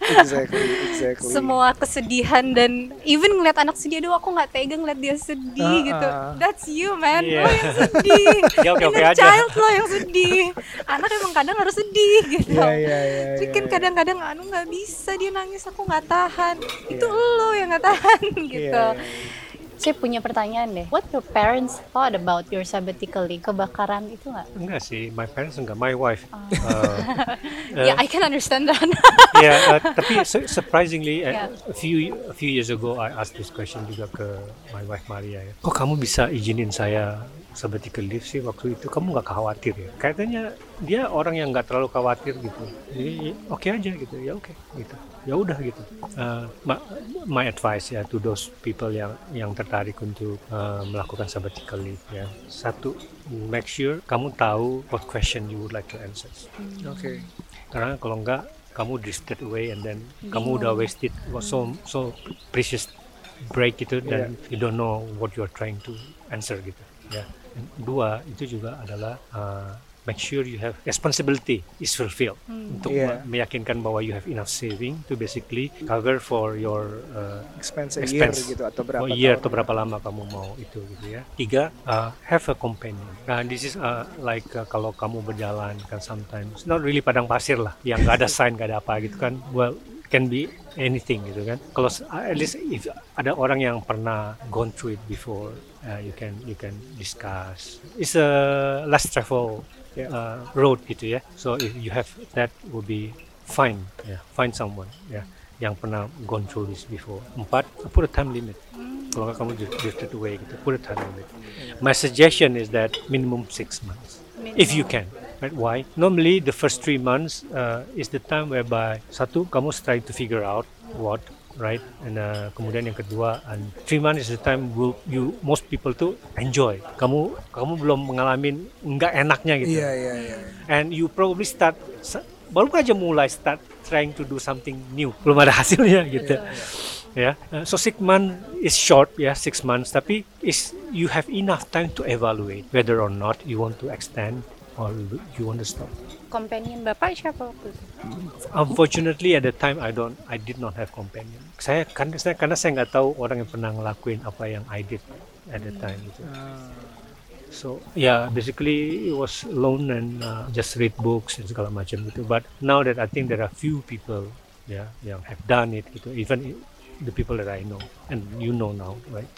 Exactly, exactly. Semua kesedihan dan even ngeliat anak sedih, aduh aku nggak tega ngeliat dia sedih Ah, gitu. ah. That's you man, Iya. lo yang sedih. Dia oke-oke Inner aja. child lo yang sedih. Anak emang kadang harus sedih gitu. Iya, iya, iya. Tapi kan iya. kadang-kadang anu nggak bisa dia nangis, aku nggak tahan. Itu lo yang nggak tahan gitu. Iya, iya. Saya punya pertanyaan deh. What your parents thought about your sabbatical leave? Kebakaran itu nggak? Enggak sih, my parents enggak, my wife. Oh. Uh, Ya, I can understand that. yeah, uh, tapi su- surprisingly uh, Yeah. a few a few years ago I asked this question juga ke my wife Maria ya. Kok kamu bisa izinin saya sabbatical leave sih waktu itu? Kamu nggak khawatir ya? Kayaknya dia orang yang nggak terlalu khawatir gitu. Jadi oke okay aja gitu. Ya oke okay, gitu. Ya udah gitu. Uh, my, my advice ya to those people yang yang tertarik untuk uh, melakukan sabbatical leave ya. Satu, make sure kamu tahu what question you would like to answer. Oke. Karena kalau enggak kamu drifted away and then kamu udah wasted so so precious break itu dan you don't know what you are trying to answer gitu ya. Dan dua itu juga adalah uh, make sure you have responsibility is fulfilled untuk Yeah. me- meyakinkan bahwa you have enough saving to basically cover for your uh, Expense a year expense gitu atau berapa oh, year tahun. atau berapa lama kamu mau itu gitu ya. Tiga, uh, have a companion. Nah, this is uh, like uh, kalau kamu berjalan kan sometimes not really padang pasir lah, yang nggak ada sign, nggak ada apa gitu kan. Well, can be anything gitu kan. Kalau s- uh, at least if ada orang yang pernah gone through it before, uh, you can you can discuss. It's a less travel Yeah. uh, road gitu ya. So if you have that, would be fine. Yeah, find someone. Yeah. Yang pernah gone through this before. Empat, put a time limit. Kalau nggak kamu dri- drifted away gitu, put a time limit. My suggestion is that minimum six months, if you can. Right? Why? Normally the first three months uh, is the time whereby satu kamu trying to figure out what, right, and uh, kemudian yang kedua, and three months is the time will you most people to enjoy. Kamu kamu belum mengalami nggak enaknya gitu. Iya, iya, iya. And you probably start sa- baru aja mulai start trying to do something new, belum ada hasilnya gitu ya. Uh, so six months is short ya, six months, tapi is you have enough time to evaluate whether or not you want to extend or you want to stop. Companion bapak siapa waktu itu? Unfortunately at the time I don't I did not have companion. Saya kan saya karena saya nggak tahu orang yang pernah ngelakuin apa yang I did at the time gitu. So yeah, basically it was alone and uh, just read books and segala macam gitu. But now that I think there are few people ya yang have done it gitu, even i- the people that I know and you know now, right?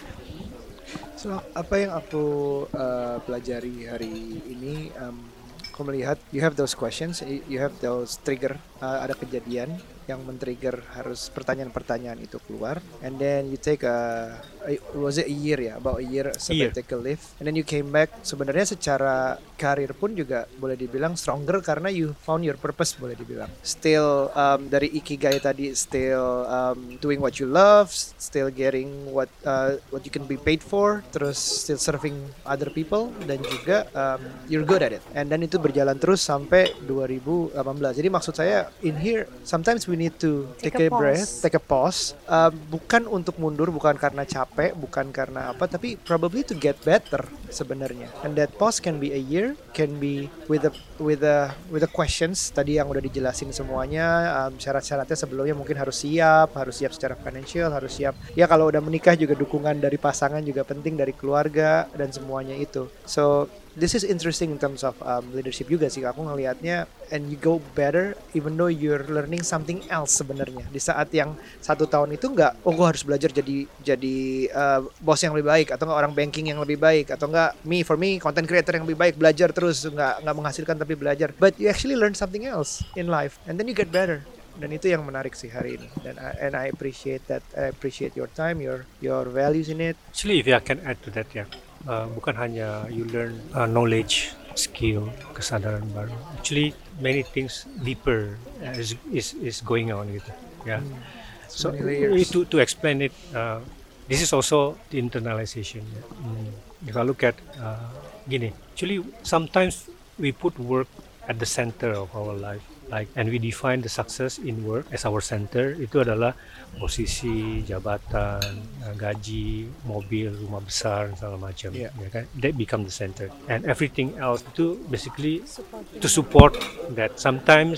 So apa yang aku uh, pelajari hari ini, um, aku melihat you have those questions, y- you have those trigger, uh, ada kejadian yang men-trigger harus pertanyaan-pertanyaan itu keluar, and then you take a, a- was it a year ya, about a year sabbatical leave, and then you came back. Sebenarnya secara karir pun juga boleh dibilang stronger karena you found your purpose, boleh dibilang. Still um, dari ikigai tadi, still um, doing what you love, still getting what uh, what you can be paid for, terus still serving other people, dan juga um, you're good at it. And then itu berjalan terus sampai dua ribu delapan belas. Jadi maksud saya in here sometimes we need to take, Take a a, breath, pause. take a pause. Um, bukan untuk mundur, bukan karena capek, bukan karena apa, tapi probably to get better sebenarnya. And that pause can be a year, can be with the with the with the questions tadi yang udah dijelasin semuanya. Um, syarat-syaratnya sebelumnya mungkin harus siap, harus siap secara financial, harus siap. Ya kalau udah menikah juga dukungan dari pasangan juga penting, dari keluarga dan semuanya itu. So this is interesting in terms of um, leadership juga sih aku ngelihatnya, and you go better even though you're learning something else sebenarnya. Di saat yang satu tahun itu nggak, oh gue harus belajar jadi jadi uh, bos yang lebih baik, atau nggak orang banking yang lebih baik, atau nggak me for me content creator yang lebih baik, belajar terus nggak nggak menghasilkan tapi belajar, but you actually learn something else in life and then you get better. Dan itu yang menarik sih hari ini, dan I, and I appreciate that. I appreciate your time, your your values in it. Actually, if I can add to that ya, uh, bukan hanya you learn uh, knowledge, skill, kesadaran baru. Actually, many things deeper uh, is is is going on gitu. Ya. So So many layers. to to explain it, uh, this is also the internalization. Ya. Mm. If I look at uh, gini, actually sometimes we put work at the center of our life. Like, and we define the success in work as our center. Itu adalah posisi, jabatan, uh, gaji, mobil, rumah besar, segala macam. Yeah. Ya kan? That become the center. And everything else itu basically Supporting. to support that. Sometimes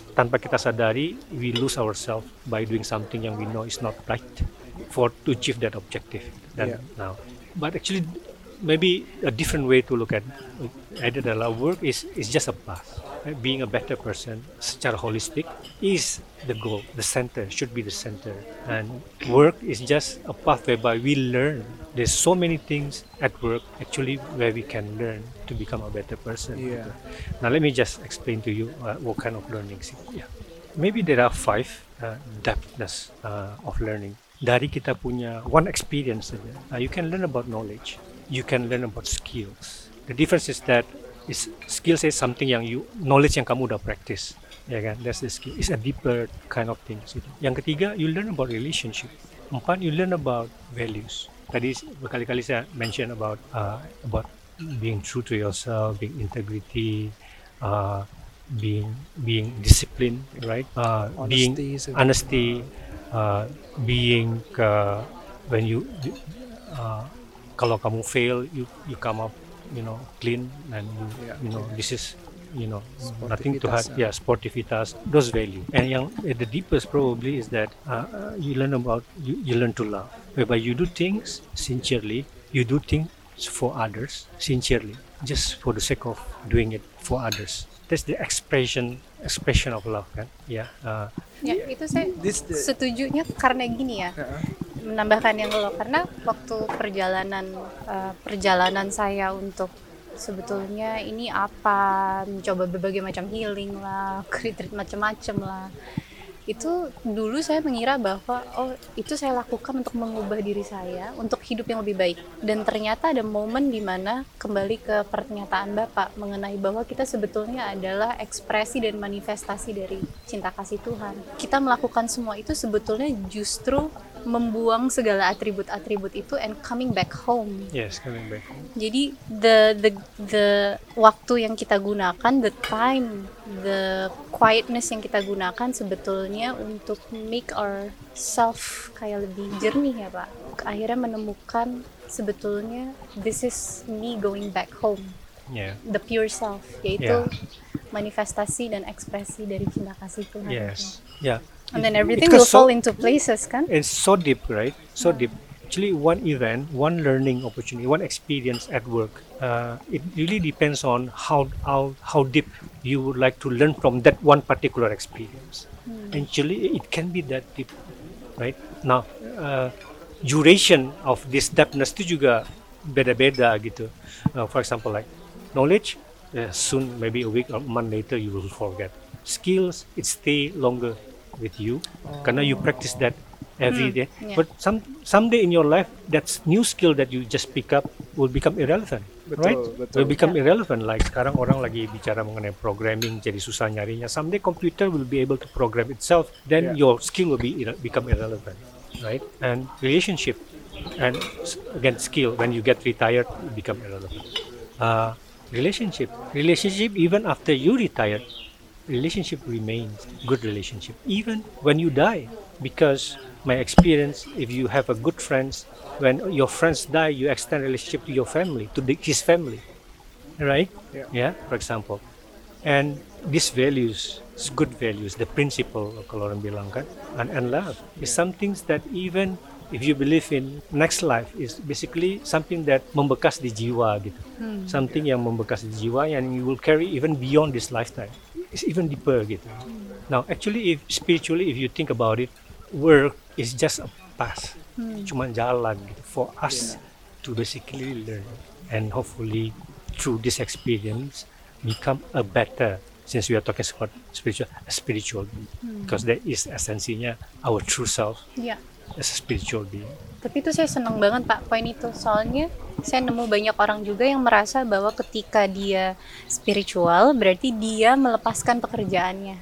tanpa kita sadari we lose ourselves by doing something yang we know is not right for to achieve that objective. Dan Yeah. now, but actually maybe a different way to look at either adalah work is is just a path. Being a better person secara holistic is the goal, the center should be the center, and work is just a path whereby we learn. There's so many things at work actually where we can learn to become a better person. Yeah. Now let me just explain to you uh, what kind of learnings. Yeah. Maybe there are five uh, depthness uh, of learning. Dari kita punya one experience saja, uh, you can learn about knowledge, you can learn about skills. The difference is that is skills is something yang you knowledge yang kamu udah practice, ya kan? That's the skill. It's a deeper kind of things. Gitu. Yang ketiga, you learn about relationship. Empat, you learn about values. Tadi berkali-kali saya mention about uh, about being true to yourself, being integrity, uh, being being disciplined, right? Uh, being Honesty is a- honesty, uh, being uh, when you uh, kalau kamu fail, you you come up, you know, clean, and you, Yeah. you know, this is, you know, nothing to hide. Sportivitas, Yeah, sportivitas, those value. And yang at the deepest probably is that uh, uh, you learn about you, you learn to love, whereby you do things sincerely, you do things for others sincerely, just for the sake of doing it for others. That's the expression expression of love, kan? Yeah. Uh, Ya, itu saya This the- setujunya karena gini ya. Uh-uh. Menambahkan yang lo, karena waktu perjalanan uh, perjalanan saya untuk sebetulnya ini apa, mencoba berbagai macam healing lah, retreat macam-macam lah. Itu dulu saya mengira bahwa oh itu saya lakukan untuk mengubah diri saya untuk hidup yang lebih baik. Dan ternyata ada momen di mana kembali ke pernyataan Bapak mengenai bahwa kita sebetulnya adalah ekspresi dan manifestasi dari cinta kasih Tuhan. Kita melakukan semua itu sebetulnya justru membuang segala atribut-atribut itu and coming back home. yes, coming back. Jadi the the the waktu yang kita gunakan, the time, the quietness yang kita gunakan sebetulnya untuk make our self kayak lebih jernih ya Pak. Akhirnya menemukan sebetulnya this is me going back home, Yeah. the pure self, yaitu manifestasi dan ekspresi dari cinta kasih Tuhan. Yes. Yeah. And then everything Because will so- fall into places kan? It's so deep, right? So deep. Actually, one event, one learning opportunity, one experience at work. Uh, it really depends on how how how deep you would like to learn from that one particular experience. Actually, it can be that deep, right? Now, uh, duration of this depthness itu juga beda-beda gitu. Uh, for example, like knowledge, uh, soon maybe a week or a month later you will forget. Skills, it stay longer with you karena you practice that every day. yeah. But some someday in your life, that new skill that you just pick up will become irrelevant, Betul, right? betul. Will become irrelevant. Like sekarang orang lagi bicara mengenai programming, jadi susah nyarinya. Someday computer will be able to program itself. Then Yeah. your skill will be irre- become irrelevant, right? And relationship, and s- again skill. When you get retired, it become irrelevant. Uh, relationship, relationship even after you retired, relationship remains good relationship even when you die, because my experience, if you have a good friends, when your friends die, you extend relationship to your family, to the, his family, right? Yeah. For example, and these values, good values, the principle kalau orang bilang kan, and, and love is some things that even if you believe in next life is basically something that membekas di jiwa gitu, something yang membekas di jiwa and you will carry even beyond this lifetime. It's even deeper gitu. Now actually, if spiritually, if you think about it, work is just a path, cuma jalan gitu for us to basically learn and hopefully through this experience become a better. Since we are talking about spiritual, a spiritual being, because that is esensinya our true self Iya. as a spiritual being. Tapi itu saya senang banget Pak poin itu, soalnya saya nemu banyak orang juga yang merasa bahwa ketika dia spiritual berarti dia melepaskan pekerjaannya,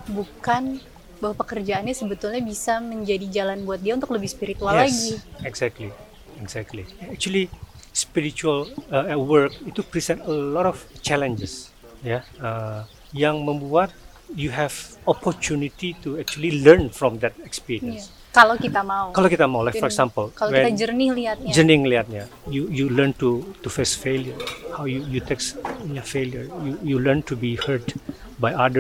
bukan bahwa pekerjaannya sebetulnya bisa menjadi jalan buat dia untuk lebih spiritual lagi. Exactly, exactly. Actually, spiritual uh, work itu present a lot of challenges, ya, uh, yang membuat you have opportunity to actually learn from that Iya. experience. Kalau kita mau. Kalau kita mau, like for Dan example, kalau kita when- jernih lihatnya. jernih ngelihatnya, you you learn to to face failure, how you you take your failure, you you learn to be hurt by others,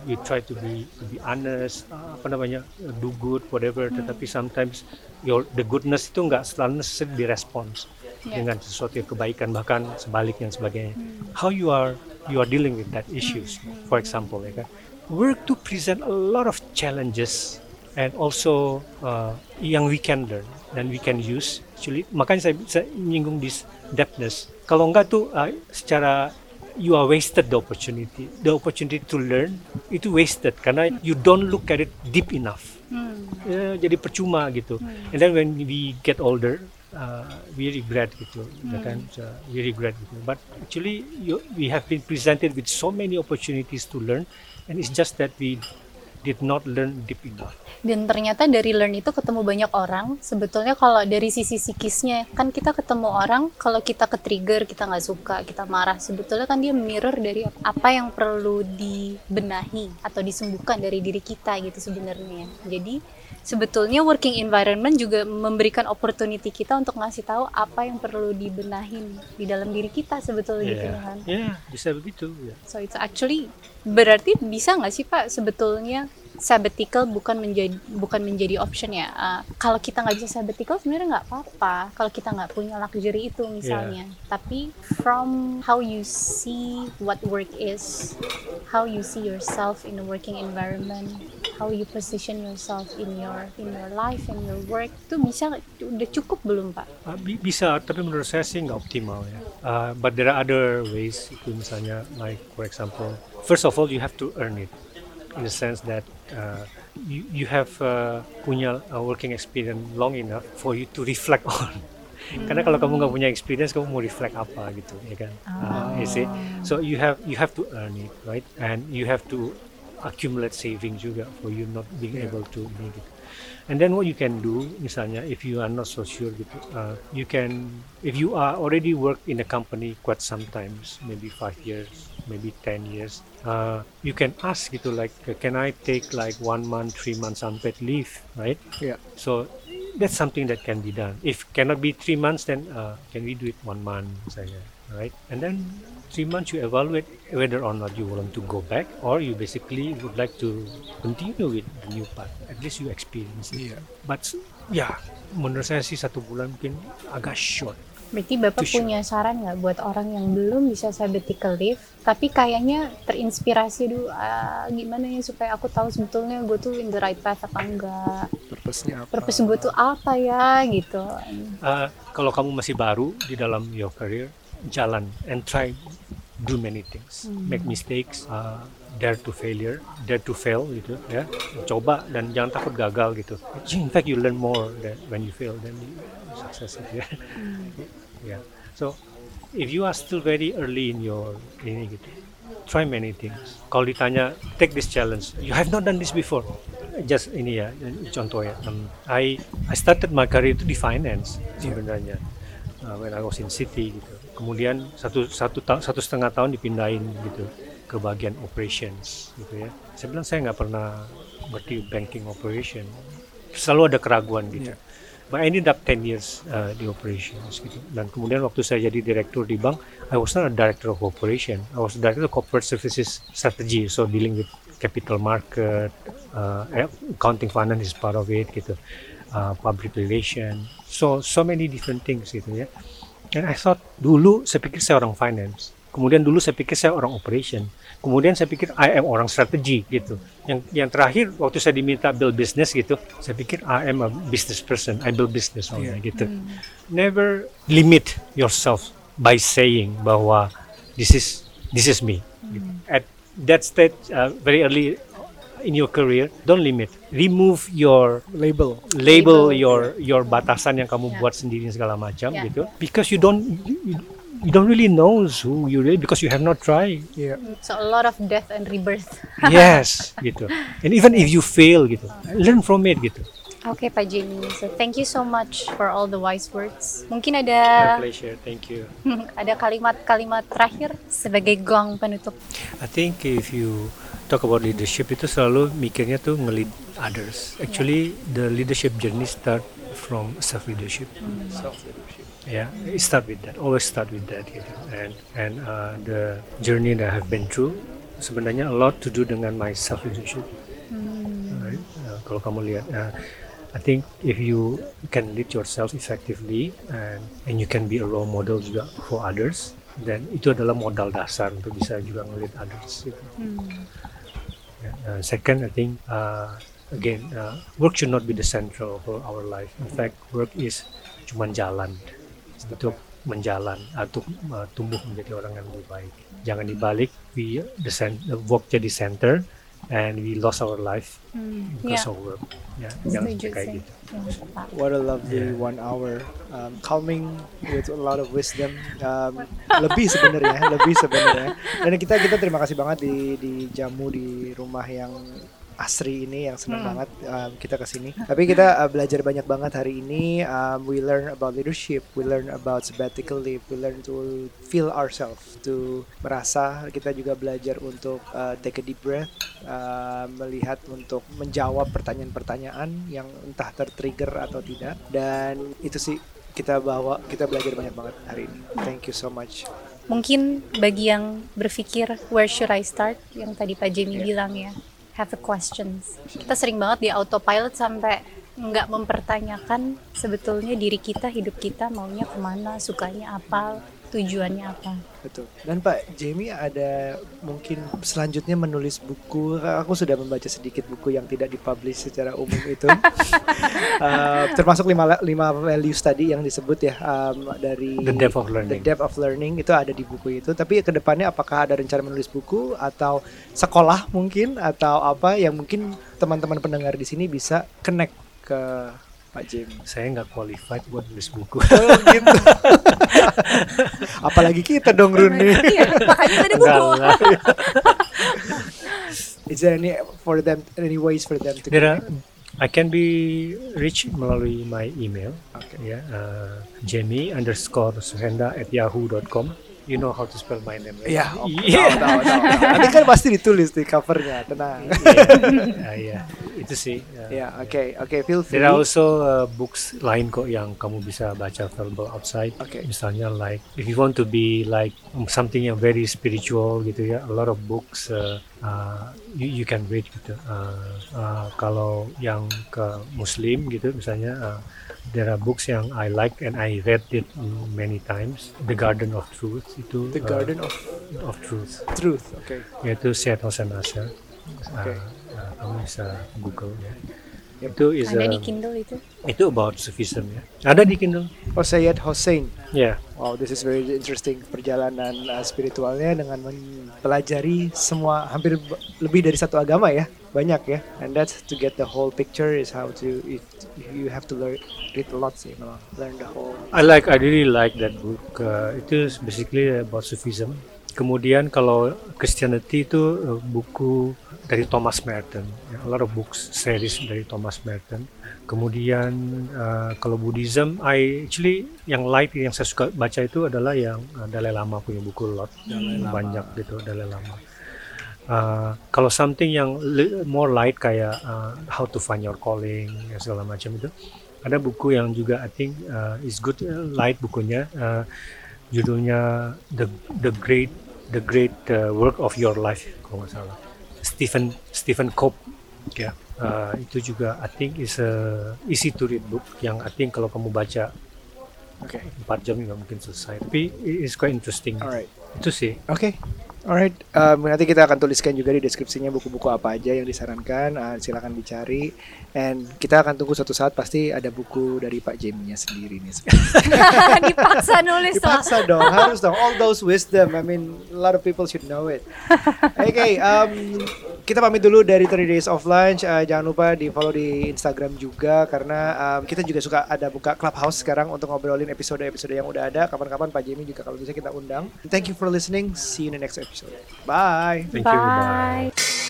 you try to be to be honest, uh, apa namanya, uh, do good, whatever. Tetapi sometimes your the goodness itu nggak selalu necessarily direspons Yeah. dengan sesuatu yang kebaikan, bahkan sebaliknya dan sebagainya. How you are you are dealing with that issues, for example, ya kan. Work to present a lot of challenges and also uh, yang we can learn dan we can use. Actually, makanya saya, saya menyinggung this depthness. Kalau enggak tuh uh, secara you are wasted the opportunity. The opportunity to learn itu wasted karena you don't look at it deep enough. Hmm. Ya, jadi percuma gitu. And then when we get older, uh, we regret gitu, ya kan? So, we regret gitu. But actually, you, we have been presented with so many opportunities to learn, and it's just that we did not learn deep enough. Dan ternyata dari learn itu ketemu banyak orang. Sebetulnya kalau dari sisi psikisnya, kan kita ketemu orang, kalau kita ke-trigger, kita nggak suka, kita marah. Sebetulnya kan dia mirror dari apa yang perlu dibenahi atau disembuhkan dari diri kita gitu sebenarnya. Jadi sebetulnya working environment juga memberikan opportunity kita untuk ngasih tahu apa yang perlu dibenahin di dalam diri kita sebetulnya gitu Yeah, kan. yeah, bisa begitu. Ya. So it's actually berarti bisa nggak sih Pak sebetulnya sabbatical bukan menjadi bukan menjadi option ya. Uh, kalau kita nggak bisa sabbatical sebenarnya nggak apa-apa. Kalau kita nggak punya luxury itu misalnya. Tapi from how you see what work is, how you see yourself in a working environment, how you position yourself in your in your life and your work, itu bisa udah cukup belum Pak? Uh, bi- bisa, tapi menurut saya sih nggak optimal ya. Uh, but there are other ways. Itu misalnya, like for example, first of all you have to earn it, in the sense that uh, you you have uh, punya uh, working experience long enough for you to reflect on. Karena kalau kamu nggak punya experience, kamu mau reflect apa gitu, ya kan? Uh, you see, so you have you have to earn it, right? And you have to accumulate saving juga for you not being able to make it. And then what you can do, misalnya, if you are not so sure gitu, uh, you can, if you are already worked in a company quite sometimes, maybe five years, maybe ten years, uh, you can ask gitu, like, uh, can I take like one month, three months unpaid leave, right? Yeah. So that's something that can be done. If cannot be three months, then uh, can we do it one month, misalnya, right? And then three months you evaluate whether or not you want to go back, or you basically would like to continue with the new path. At least you experience it. Yeah. But ya, menurut saya sih satu bulan mungkin agak short. Berarti Bapak Itu punya saran nggak buat orang yang belum bisa sabbatical leave, tapi kayaknya terinspirasi dulu, ah, gimana ya supaya aku tahu sebetulnya gue tuh in the right path apa enggak, Purpose-nya apa? purpose gue tuh apa ya gitu. Uh, kalau kamu masih baru di dalam your career, jalan and try do many things, make mistakes, uh, dare to failure, dare to fail gitu ya, coba dan jangan takut gagal gitu. In fact you learn more than when you fail than you success gitu ya. Yeah. So if you are still very early in your ini gitu, try many things. Kalau ditanya take this challenge, you have not done this before. Just ini ya contoh ya. Um, I I started my career itu di finance sebenarnya. Uh, when I was in city gitu. Kemudian satu satu ta- satu setengah tahun dipindahin gitu ke bagian operations gitu ya. Saya bilang saya nggak pernah berarti banking operation. Selalu ada keraguan gitu. Yeah. But I ended up ten years uh, di operations gitu. Dan kemudian waktu saya jadi direktur di bank, I was not a director of operation. I was director of corporate services strategy, so dealing with capital market, uh, accounting finance is part of it gitu. Uh, public relation, so so many different things gitu ya. And I thought dulu saya pikir saya orang finance, kemudian dulu saya pikir saya orang operation, kemudian saya pikir I am orang strategi gitu. Yang yang terakhir waktu saya diminta build business gitu, saya pikir I am a business person, I build business only Yeah. gitu. Never limit yourself by saying bahwa this is this is me. Gitu. At that stage, uh, very early in your career, don't limit. Remove your Label. label, Label. your your batasan yang kamu Yeah. buat sendiri segala macam Yeah. gitu. Because you don't you, you don't really know who you really, because you have not tried. Yeah. So a lot of death and rebirth. Yes, gitu. And even if you fail gitu, learn from it gitu. Oke Pak Jamie, so thank you so much for all the wise words. Mungkin My ada pleasure. Thank you. ada kalimat-kalimat terakhir sebagai gong penutup. I think if you talk about leadership itu selalu mikirnya tuh nge-lead others. Actually, the leadership journey start from self leadership. Self leadership. Yeah, it start with that. Always start with that. Gitu. And and uh, the journey that I have been through, sebenarnya a lot to do dengan my self leadership. Hmm. Right? Uh, kalau kamu lihat, uh, I think if you can lead yourself effectively and and you can be a role model juga for others, then itu adalah modal dasar untuk bisa juga nge-lead others. Gitu. Hmm. Yeah. Uh, second, I think uh, again uh, work should not be the central for our life. In fact, work is cuman jalan untuk menjalan atau uh, tumbuh menjadi orang yang lebih baik. Jangan dibalik, we the, cent- the work jadi center and we lost our life Hmm. because Ya, of work. Ya, jangan setuju sampai kayak sih. gitu. Ya, Pak. What a lovely Yeah. one hour, um, calming with a lot of wisdom. Um, lebih sebenarnya, lebih sebenarnya. Dan kita kita terima kasih banget di di jamu di rumah yang asri ini, yang senang Hmm. banget um, kita kesini. Tapi kita uh, belajar banyak banget hari ini. Um, we learn about leadership, we learn about sabbatical leave, we learn to feel ourselves, to merasa. Kita juga belajar untuk uh, take a deep breath, uh, melihat untuk menjawab pertanyaan-pertanyaan yang entah tertrigger atau tidak. Dan itu sih kita bawa, kita belajar banyak banget hari ini. Thank you so much. Mungkin bagi yang berpikir where should I start, yang tadi Pak Jamie Yeah. bilang ya, have a questions. Kita sering banget di autopilot sampai nggak mempertanyakan sebetulnya diri kita, hidup kita maunya kemana, sukanya apa, tujuannya apa. Betul. Dan Pak Jamie ada mungkin selanjutnya menulis buku. Aku sudah membaca sedikit buku yang tidak dipublish secara umum itu. Uh, termasuk lima lima values tadi yang disebut ya, um, dari The Depth of The Learning. Depth of Learning itu ada di buku itu. Tapi ke depannya apakah ada rencana menulis buku atau sekolah mungkin atau apa yang mungkin teman-teman pendengar di sini bisa connect ke Pak Jamie? Saya nggak qualified buat nulis buku. Oh gitu. Apalagi kita dong Runi. Iya, makanya tadi Enggak buku. lah. Is there any for them any ways for them to There are, connect? I can be reached melalui my email. Okay. Ya, uh, Jamie underscore Suhenda at yahoo dot com. You know how to spell my name, right? Iya, oh, Iya. tahu, tahu, tahu, tahu. Nanti kan pasti ditulis di covernya, tenang. Ah, iya. Itu sih. uh, Ya, oke, oke, feel free. There are also uh, books lain kok yang kamu bisa baca available outside. Okay. Misalnya like if you want to be like um, something yang very spiritual gitu ya, a lot of books uh, uh, you, you can read gitu. Uh, uh, kalau yang ke Muslim gitu misalnya, uh, there are books yang I like and I read it mm, many times. The Garden of Truth itu. The uh, Garden of of Truth. Truth, oke. Yaitu Syed Hossein Nasr. Okay. Uh, uh, kamu bisa Google ya. Yep. Itu is Ada a, di Kindle itu. itu about Sufism ya. Ada di Kindle. Oh, Syed Hossein. Ya. Wow, this is very interesting, perjalanan uh, spiritualnya dengan mempelajari semua hampir b- lebih dari satu agama ya, banyak ya. And that's to get the whole picture is how to if you have to learn read a lot sih, memang learn the whole. I like, I really like that book. Uh, itu is basically about Sufism. Kemudian kalau Christianity itu uh, buku dari Thomas Merton, ya, a lot of books series dari Thomas Merton. Kemudian uh, kalau Buddhism, I actually yang light yang saya suka baca itu adalah yang uh, Dalai Lama punya buku lot, banyak gitu Dalai Lama. Uh, kalau something yang li- more light kayak uh, How to Find Your Calling ya, segala macam itu, ada buku yang juga I think uh, is good, uh, light bukunya. Uh, judulnya the the great the great uh, work of your life kalau nggak salah, Stephen Stephen Cope ya. Uh, itu juga I think is a easy to read book yang I think kalau kamu baca Oke, empat jam nggak mungkin selesai, tapi it's quite interesting. alright. Itu sih. Oke, alright. Um, nanti kita akan tuliskan juga di deskripsinya buku-buku apa aja yang disarankan. Uh, silakan dicari. And kita akan tunggu suatu saat pasti ada buku dari Pak Jamie-nya sendiri nih. Dipaksa nulis loh. Dipaksa dong, harus dong. All those wisdom. I mean, a lot of people should know it. Oke, okay, um, kita pamit dulu dari thirty Days of Lunch. Uh, jangan lupa di follow di Instagram juga karena um, kita juga suka ada buka Clubhouse sekarang untuk ngobrolin episode-episode yang udah ada. Kapan-kapan Pak Jamie juga kalau bisa kita undang. Thank you for listening. See you in the next episode. Bye. Thank you. Bye. Bye.